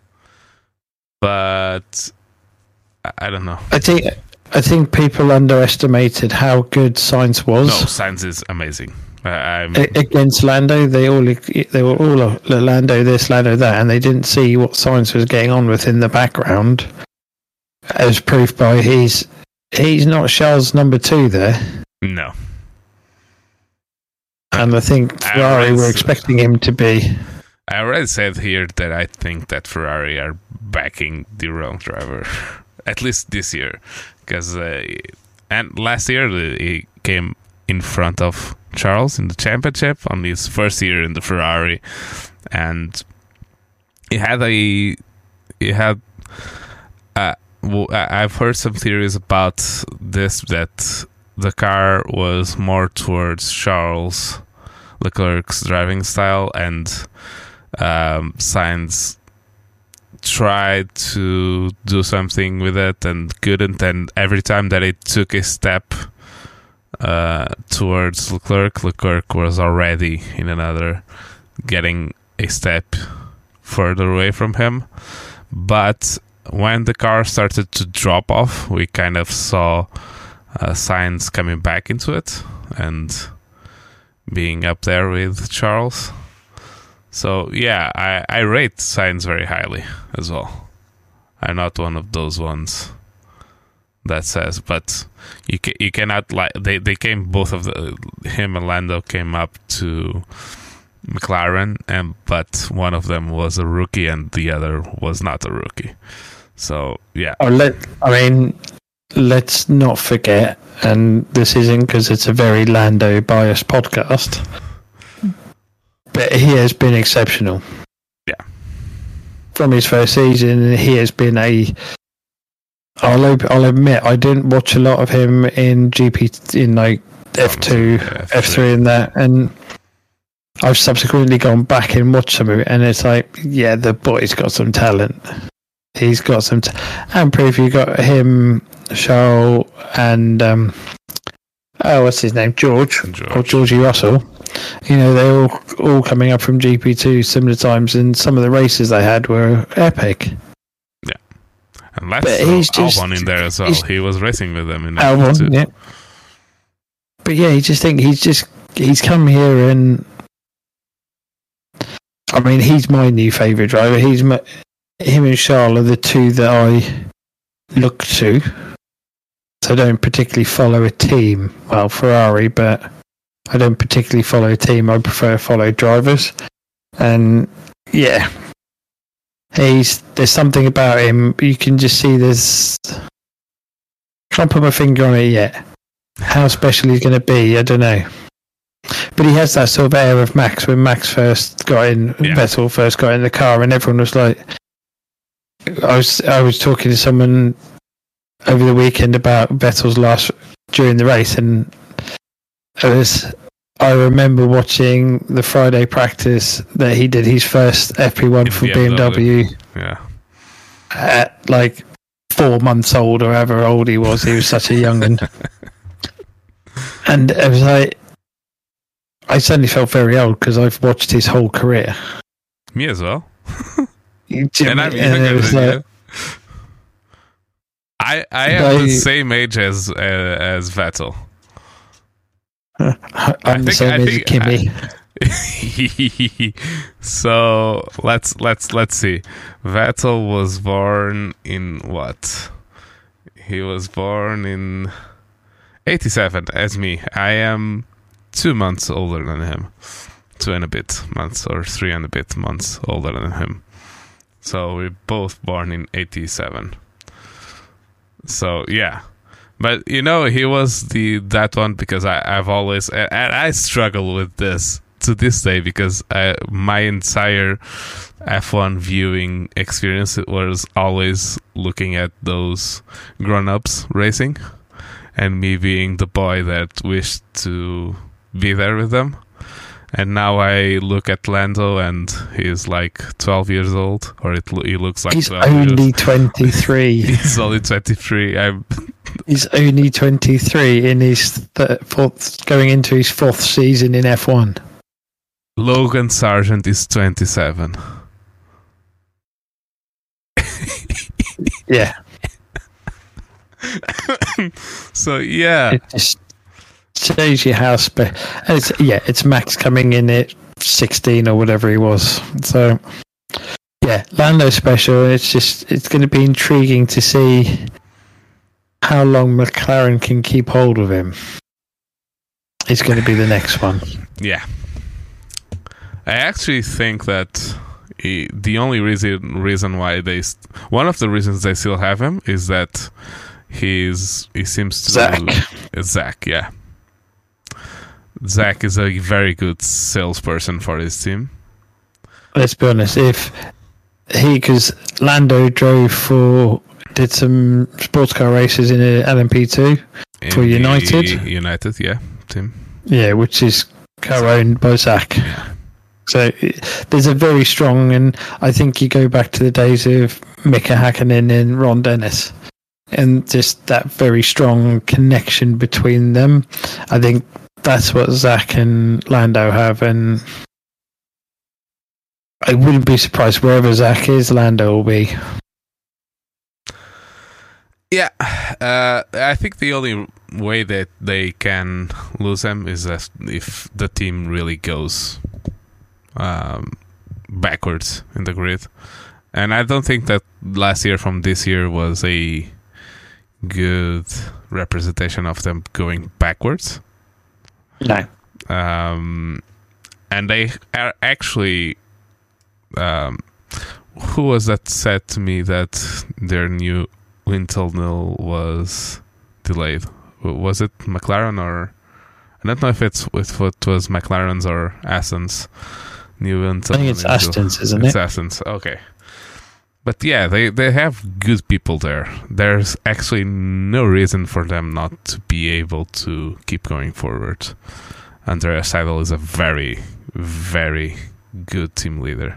But I don't know. I think people underestimated how good Sainz was. No, Sainz is amazing. Against Lando, they were all Lando this, Lando that, and they didn't see what Sainz was getting on with in the background, as proof by he's not Charles' number 2 there. No. And I think Ferrari were expecting him to be. I already said here that I think that Ferrari are backing the wrong driver, at least this year, because and last year he came in front of Charles in the championship on his first year in the Ferrari, and I've heard some theories about this, that the car was more towards Charles Leclerc's driving style, and Sainz tried to do something with it and couldn't, and every time that it took a step towards Leclerc was already in another, getting a step further away from him. But when the car started to drop off, we kind of saw Sainz coming back into it and being up there with Charles. So yeah, I rate Sainz very highly as well. I'm not one of those ones that says, but you cannot, like, they came, both of him and Lando came up to McLaren, but one of them was a rookie and the other was not a rookie. So yeah. Let's not forget, and this isn't because it's a very Lando biased podcast, but he has been exceptional. Yeah. From his first season, he has been I'll admit, I didn't watch a lot of him in GP, in like F2, F3 and that, and I've subsequently gone back and watched some of it, and it's like, yeah, the boy's got some talent. He's got some and proof. You got him, Charles, and what's his name, George. Or Georgie Russell. You know, they're all coming up from GP2 similar times, and some of the races they had were epic. Yeah, and let's Albon in there as well. He was racing with them in Albon, yeah. But yeah, he's come here, and I mean, he's my new favourite driver. Him and Charles are the two that I look to. So I don't particularly follow a team. Well, Ferrari, but I don't particularly follow a team. I prefer to follow drivers. And yeah, there's something about him. You can just see can't put my finger on it yet. How special he's going to be, I don't know. But he has that sort of air of Max when Max first got in, Vettel first got in the car, and everyone was like, I was talking to someone over the weekend about Vettel's during the race, and I remember watching the Friday practice that he did his first FP1 for BMW. Yeah. At like 4 months old or however old he was. He was such a young one. And it was like, I suddenly felt very old because I've watched his whole career. Me as well. And I'm younger than you. I am the same age as Vettel. I'm the same age as Kimi. So let's see. Vettel was born in what? He was born in 87 as me. I am 2 months older than him. 2 and a bit months or 3 and a bit months older than him. So we're both born in 87. So yeah. But you know, he was that one because I've always, and I struggle with this to this day because my entire F1 viewing experience was always looking at those grown-ups racing and me being the boy that wished to be there with them. And now I look at Lando and he's like 12 years old, or he looks like he's 12 only years. 23. He's only 23. He's only 23 in his going into his 4th season in F1. Logan Sargent is 27. Yeah. So yeah. It just shows you how it's Max coming in at 16 or whatever he was. So yeah, Lando's special. It's going to be intriguing to see how long McLaren can keep hold of him. It's going to be the next one. Yeah. I actually think that the only reason why one of the reasons they still have him is that he seems to Zach, yeah. Zach is a very good salesperson for his team. Let's be honest, because Lando did some sports car races in an LMP2 for United. United, yeah, team. Yeah, which is co-owned by Zach. Yeah. So there's a very strong, and I think you go back to the days of Mika Hakkinen and Ron Dennis, and just that very strong connection between them. I think that's what Zach and Lando have, and I wouldn't be surprised wherever Zach is, Lando will be. Yeah, I think the only way that they can lose him is if the team really goes backwards in the grid. And I don't think that last year from this year was a good representation of them going backwards. No. And they are actually who was that said to me that their new wind tunnel was delayed? Was it McLaren or I don't know if it was McLaren's or Aston's new wind tunnel. I think it's Aston's, isn't it? It's Aston's. Okay. But yeah, they have good people there. There's actually no reason for them not to be able to keep going forward. Andrea Seidel is a very, very good team leader.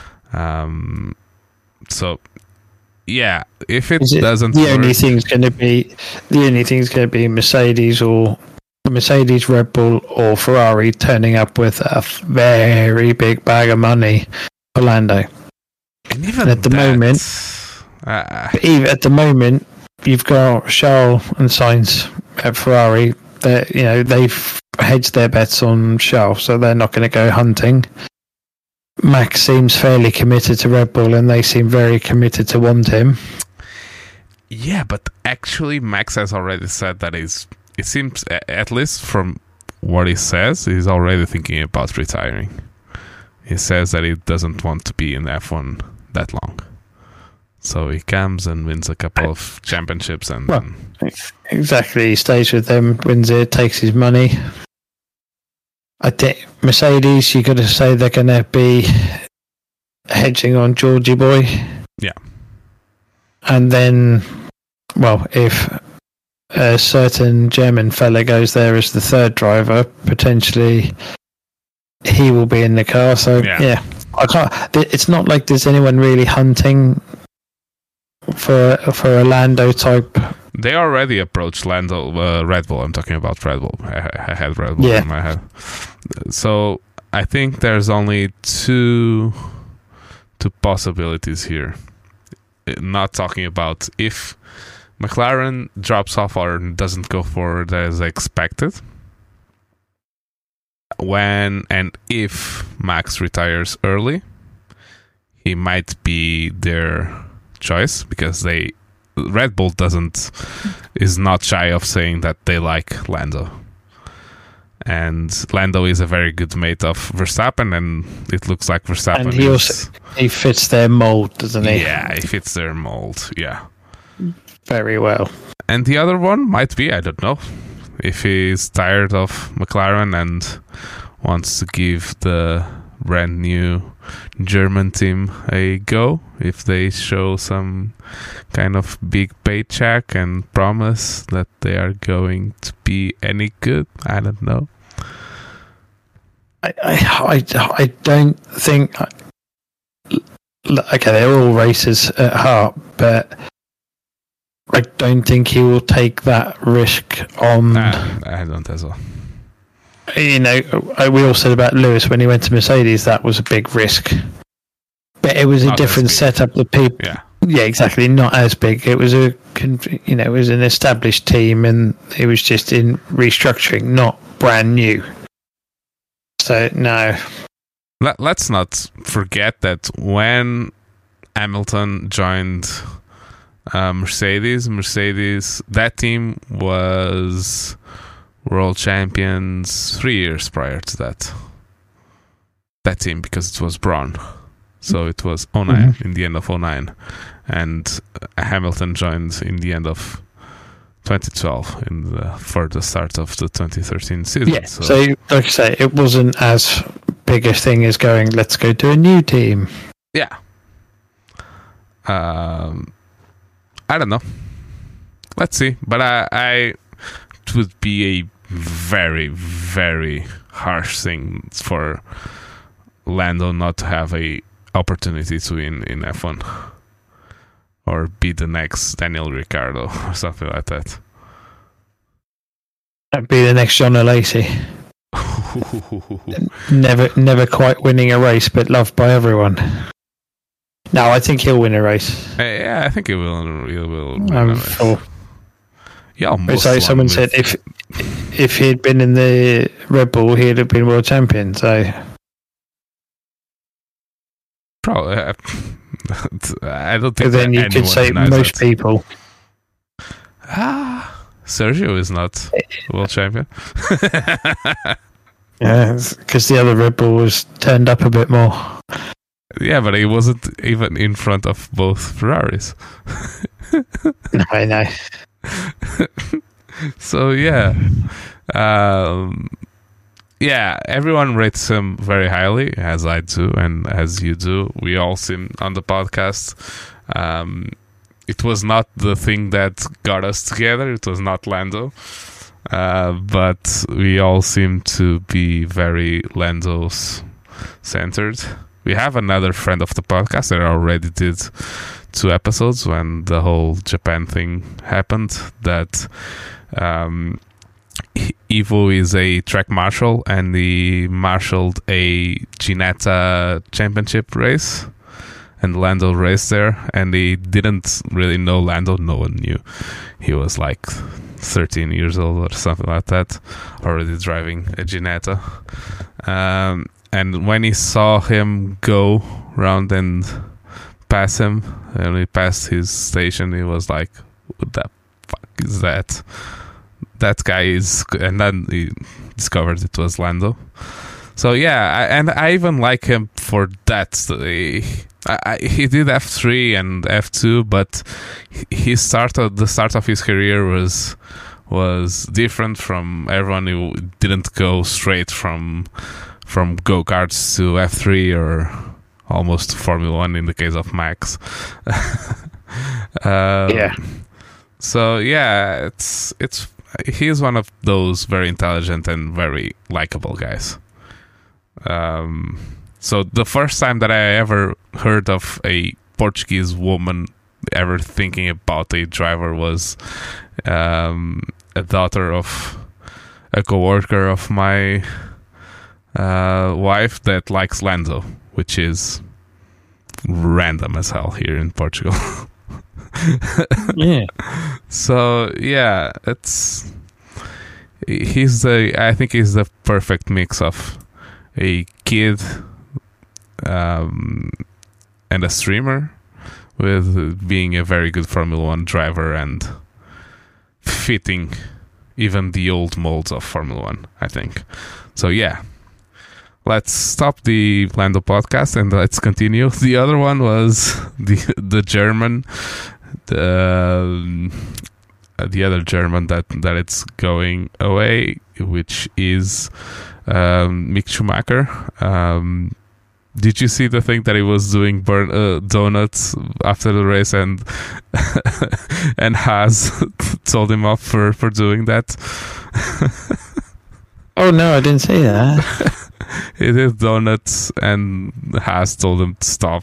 So yeah, if it doesn't, the only thing's going to be Mercedes, Red Bull, or Ferrari turning up with a very big bag of money for Lando. And even at the moment, even at the moment, you've got Charles and Sainz at Ferrari. They've hedged their bets on Charles, so they're not going to go hunting. Max seems fairly committed to Red Bull, and they seem very committed to want him. Yeah, but actually, Max has already said that it seems, at least from what he says, he's already thinking about retiring. He says that he doesn't want to be in F1 that long. So he comes and wins a couple of championships and... Well, exactly. He stays with them, wins it, takes his money. I think Mercedes, you got to say they're going to be hedging on Georgie Boy. Yeah. And then, well, if a certain German fella goes there as the third driver, potentially he will be in the car. So, yeah. I can't. It's not like there's anyone really hunting for a Lando type. They already approached Red Bull. I'm talking about Red Bull. I had Red Bull in my head. So I think there's only two possibilities here. Not talking about if McLaren drops off or doesn't go forward as expected. When and if Max retires early, he might be their choice because Red Bull is not shy of saying that they like Lando. And Lando is a very good mate of Verstappen, and it looks like Verstappen. And he fits their mold, doesn't he? Yeah, he fits their mold. Yeah, very well. And the other one might be, I don't know, if he's tired of McLaren and wants to give the brand new German team a go, if they show some kind of big paycheck and promise that they are going to be any good. I don't know. I don't think. Okay, they're all racers at heart, but I don't think he will take that risk on. I don't as well. We all said about Lewis when he went to Mercedes, that was a big risk. But it was a different setup. The people, yeah, exactly, not as big. It was it was an established team, and it was just in restructuring, not brand new. So no. Let's not forget that when Hamilton joined Mercedes, that team was world champions 3 years prior to that. That team, because it was Braun. So it was 09, in the end of 09. And Hamilton joined in the end of 2012, for the start of the 2013 season. Yeah, so like I say, it wasn't as big a thing as going, let's go to a new team. Yeah. I don't know. Let's see. But it would be a very, very harsh thing for Lando not to have a opportunity to win in F1 or be the next Daniel Ricciardo or something like that. That'd be the next John Lacey. never quite winning a race, but loved by everyone. No, I think he'll win a race. Yeah, I think he will. He will win a race. Yeah, so someone said if he'd been in the Red Bull, he'd have been world champion. So probably, I don't think. But then you could say most people. Sergio is not world champion. Yeah, because the other Red Bull was turned up a bit more. Yeah, but he wasn't even in front of both Ferraris. No, I know. So yeah, yeah, everyone rates him very highly, as I do and as you do. We all seen on the podcast. It was not the thing that got us together. It was not Lando, but we all seem to be very Lando's centered. We have another friend of the podcast that already did 2 episodes when the whole Japan thing happened. That Ivo is a track marshal, and he marshaled a Ginetta championship race, and Lando raced there, and he didn't really know Lando. No one knew. He was like 13 years old or something like that, already driving a Ginetta. And when he saw him go round and pass him, and he passed his station, he was like, what the fuck is that? That guy is... And then he discovered it was Lando. So yeah, I even like him for that. He did F3 and F2, but the start of his career was different from everyone who didn't go straight from go-karts to F3 or almost to Formula 1 in the case of Max. Yeah. So yeah, he's one of those very intelligent and very likable guys. So the first time that I ever heard of a Portuguese woman ever thinking about a driver was a daughter of a coworker of my wife that likes Lando, which is random as hell here in Portugal. Yeah. So yeah, I think he's the perfect mix of a kid and a streamer, with being a very good Formula 1 driver and fitting even the old molds of Formula 1, I think. So yeah, let's stop the Lando podcast and let's continue. The other one was the German, the other German that it's going away, which is Mick Schumacher. Did you see the thing that he was doing donuts after the race, and and Haas told him off for doing that? Oh no, I didn't see that. He did donuts, and Haas told him to stop,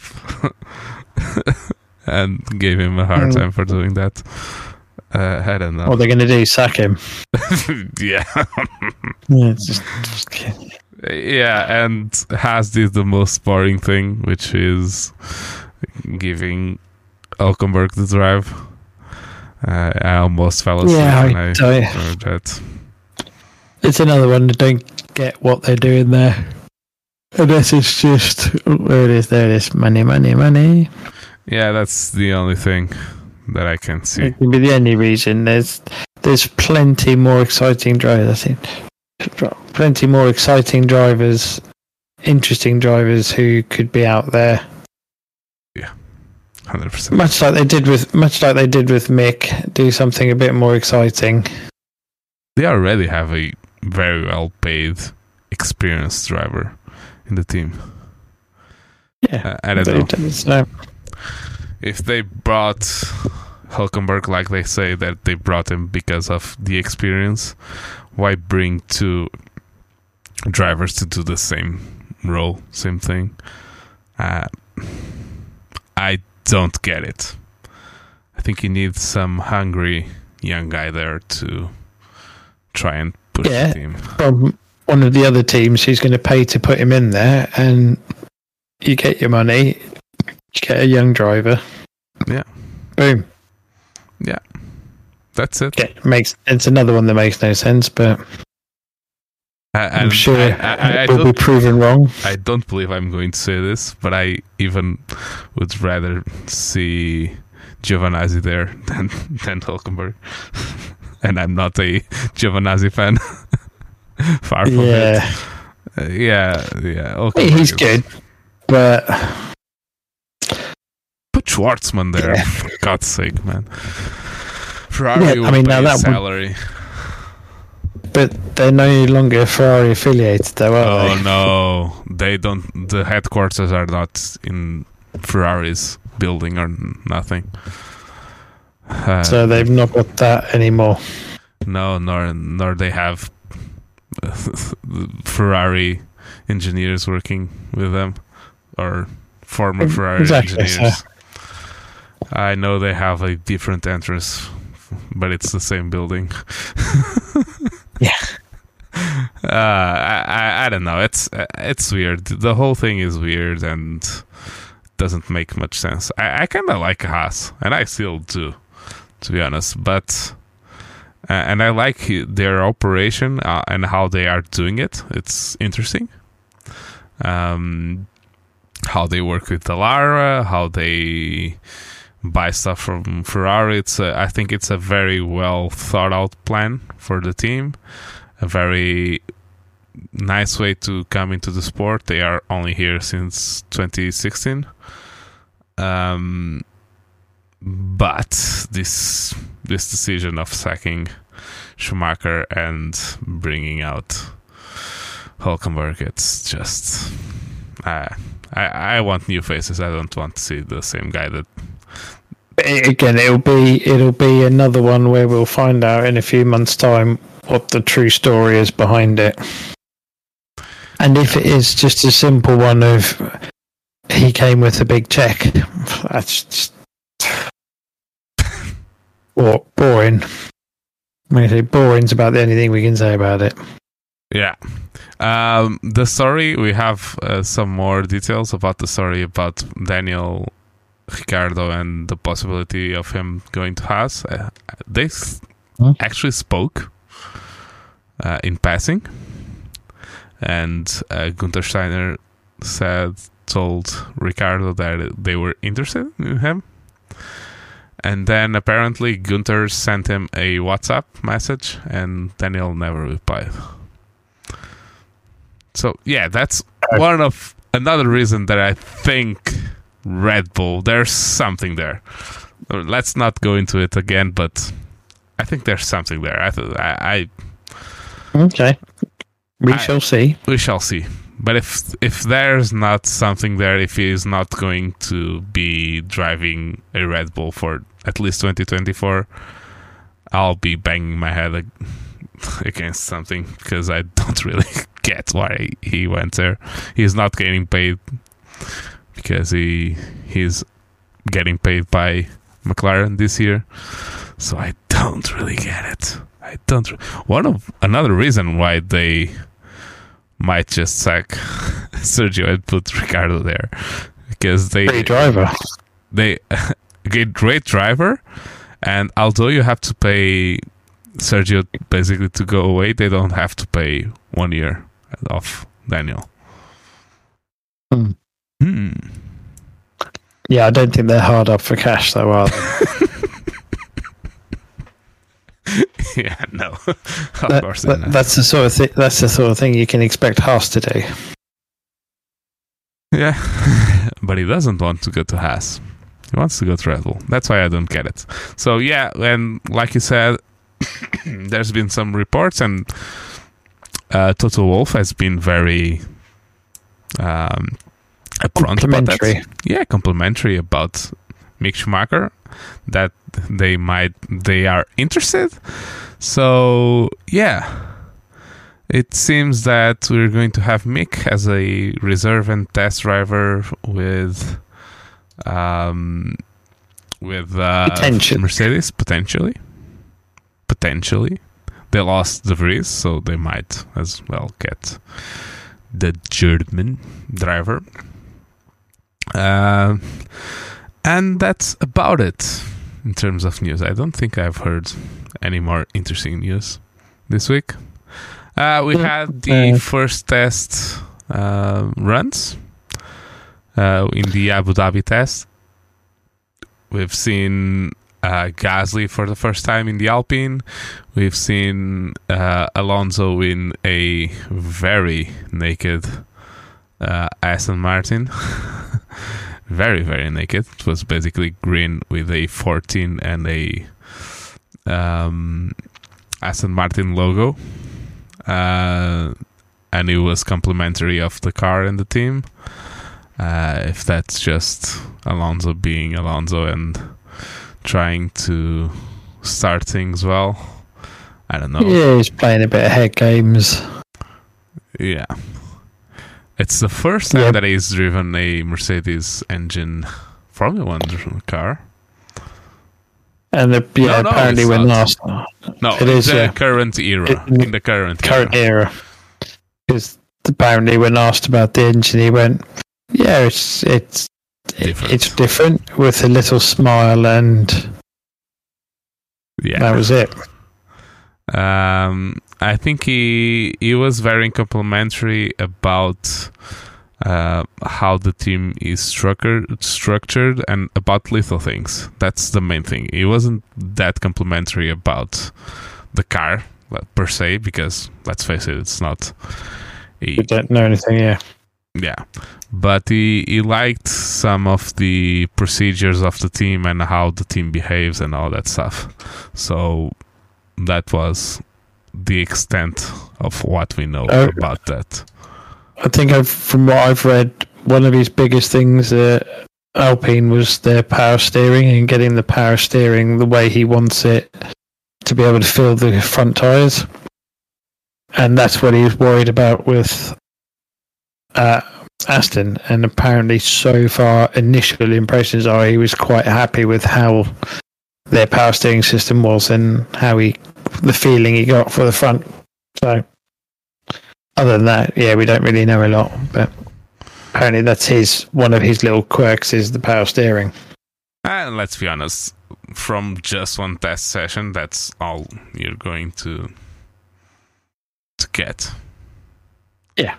and gave him a hard time for doing that. I don't know. What they're going to do? Sack him? Yeah. Yeah, it's just kidding. Yeah, and Haas did the most boring thing, which is giving Hülkenberg the drive. I almost fell asleep when I heard that. It's another one that don't get what they're doing there. Unless it's just, there it is, money, money, money. Yeah, that's the only thing that I can see. It can be the only reason. There's plenty more exciting drivers, I think. Plenty more exciting drivers, interesting drivers who could be out there. Yeah, 100%. Much like they did with Mick, do something a bit more exciting. They already have a very well-paid, experienced driver in the team. Yeah, I don't know. So. If they brought Hülkenberg like they say that they brought him because of the experience, why bring 2 drivers to do the same role, same thing? I don't get it. I think you need some hungry young guy there to try and push the team. From one of the other teams who's going to pay to put him in there, and you get your money, you get a young driver. Yeah. Boom. Yeah. That's it. It's another one that makes no sense, but I'm sure it will be proven wrong. I don't believe I'm going to say this, but I even would rather see Giovinazzi there than Hülkenberg. And I'm not a Giovinazzi fan. Far from it. Yeah. He's good, but Schwartzman there. Yeah. For God's sake, man. Ferrari will now pay that salary. But they're no longer Ferrari affiliated, though, are Oh they? no, they don't. The headquarters are not in Ferrari's building or nothing. So they've not got that anymore. No, nor they have Ferrari engineers working with them or former Ferrari engineers. Yeah. I know they have a different entrance, but it's the same building. Yeah. I don't know. It's weird. The whole thing is weird and doesn't make much sense. I kind of like Haas, and I still do, to be honest. But and I like their operation and how they are doing it. It's interesting. How they work with Dallara, how they buy stuff from Ferrari. I think it's a very well thought out plan for the team. A very nice way to come into the sport. They are only here since 2016. But this decision of sacking Schumacher and bringing out Hülkenberg, it's just I want new faces. I don't want to see the same guy that. Again, it'll be another one where we'll find out in a few months' time what the true story is behind it. And if it is just a simple one of he came with a big check, that's just boring. I say boring's about the only thing we can say about it. Yeah. The story, we have some more details about the story about Daniel Ricciardo and the possibility of him going to Haas. They actually spoke in passing, and Gunther Steiner told Ricciardo that they were interested in him, and then apparently Gunther sent him a WhatsApp message, and Daniel never replied. So yeah, that's another reason that I think Red Bull, there's something there. Let's not go into it again, but I think there's something there. Okay, we shall see. We shall see. But if there's not something there, if he is not going to be driving a Red Bull for at least 2024, I'll be banging my head against something, because I don't really get why he went there. He's not getting paid because he's getting paid by McLaren this year, so I don't really get it. Another reason why they might just sack Sergio and put Ricciardo there, because Great driver. They get great driver, and although you have to pay Sergio basically to go away, they don't have to pay 1 year of Daniel. Yeah, I don't think they're hard up for cash, though, are they? Yeah, no. Of course not. That's the sort of thing. That's the sort of thing you can expect Haas to do. Yeah, but he doesn't want to go to Haas. He wants to go to Red Bull. That's why I don't get it. So yeah, and like you said, there's been some reports, and Toto Wolff has been very upfront about that. Yeah, complimentary about Mick Schumacher, that they are interested. So yeah, it seems that we're going to have Mick as a reserve and test driver with Mercedes potentially. They lost De Vries, so they might as well get the German driver. And that's about it in terms of news. I don't think I've heard any more interesting news this week. We had the first test runs in the Abu Dhabi test. We've seen Gasly for the first time in the Alpine. We've seen Alonso in a very naked Aston Martin. very, very naked. It was basically green with a 14 and a Aston Martin logo. And it was complimentary of the car and the team. If that's just Alonso being Alonso and trying to start things well, I don't know. Yeah, he's playing a bit of head games. Yeah. It's the first time that he's driven a Mercedes engine Formula 1 car. And apparently when last... No, it is the current era. In the current era. Because apparently when asked about the engine, he went, yeah, it's different with a little smile, and that was it. I think he was very complimentary about how the team is structured and about little things. That's the main thing. He wasn't that complimentary about the car per se, because let's face it, it's not. We don't know anything, Yeah, but he liked some of the procedures of the team and how the team behaves and all that stuff. So that was the extent of what we know about that. I think from what I've read, one of his biggest things at Alpine was their power steering and getting the power steering the way he wants it to be able to fill the front tyres. And that's what he was worried about with Aston. And apparently so far, initial impressions are he was quite happy with how their power steering system was and how the feeling he got for the front. So other than that, we don't really know a lot. But apparently that's one of his little quirks is the power steering. And let's be honest, from just one test session, that's all you're going to get. Yeah.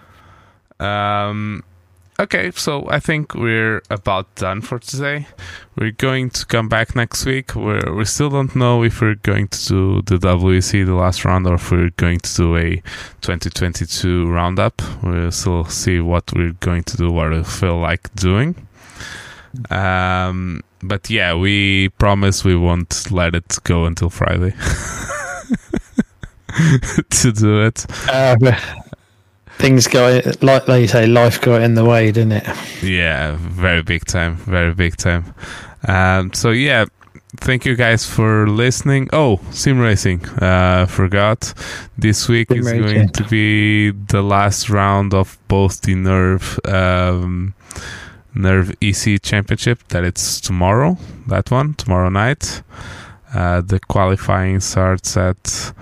Okay, so I think we're about done for today. We're going to come back next week. We still don't know if we're going to do the WEC, the last round, or if we're going to do a 2022 roundup. We'll still see what we're going to do, what we feel like doing. But yeah, we promise we won't let it go until Friday to do it. Things got, like you say, life got in the way, didn't it? Yeah, very big time. So yeah, thank you guys for listening. Oh, sim racing, forgot. This week is going to be the last round of both the Nerve EC Championship. That it's tomorrow. That one tomorrow night. The qualifying starts at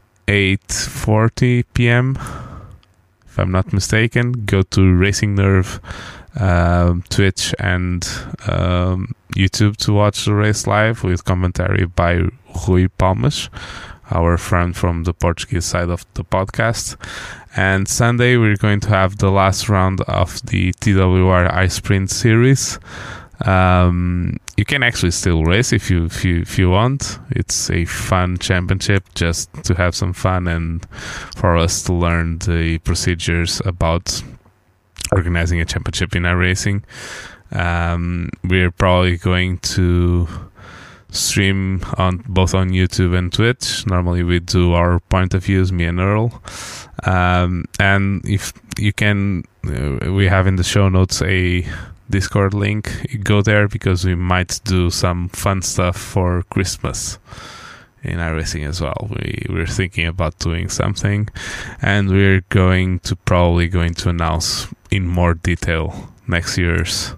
8:40 p.m. If I'm not mistaken. Go to Racing Nerve, Twitch and YouTube to watch the race live with commentary by Rui Palmas, our friend from the Portuguese side of the podcast. And Sunday we're going to have the last round of the TWR iSprint series. You can actually still race if you want. It's a fun championship just to have some fun and for us to learn the procedures about organizing a championship in iRacing. We're probably going to stream both on YouTube and Twitch. Normally we do our point of views, me and Earl. And if you can, we have in the show notes a Discord link. Go there because we might do some fun stuff for Christmas in iRacing as well. We're thinking about doing something, and we're probably going to announce in more detail next year's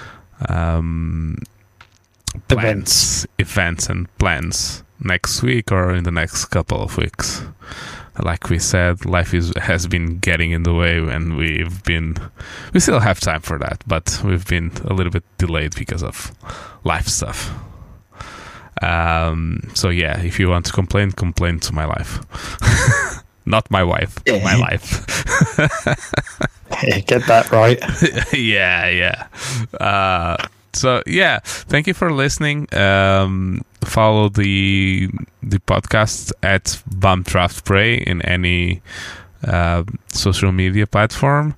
events and plans next week or in the next couple of weeks. Like we said, life has been getting in the way, and we still have time for that, but we've been a little bit delayed because of life stuff. So yeah, if you want to complain to my life. Not my wife, my life. Get that right. Yeah. So yeah, thank you for listening. Follow the podcast at Bump Draft Prey in any social media platform.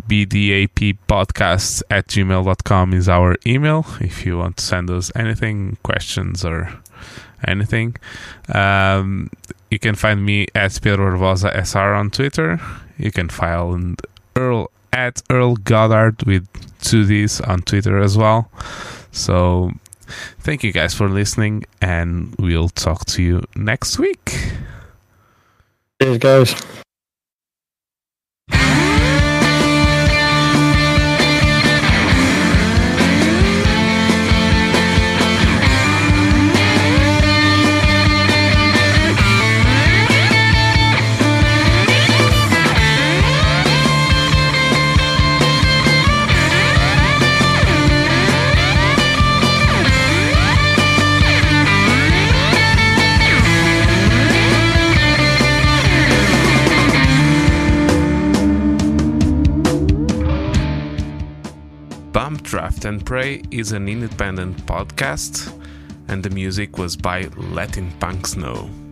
bdappodcasts@gmail.com is our email if you want to send us anything, questions or anything. You can find me at Pedro Barbosa SR on Twitter. You can find Earl at Earl Goddard with 2 Ds on Twitter as well. So thank you guys for listening, and we'll talk to you next week. Cheers, guys. Bump, Draft and Pray is an independent podcast, and the music was by Letting Punks Know.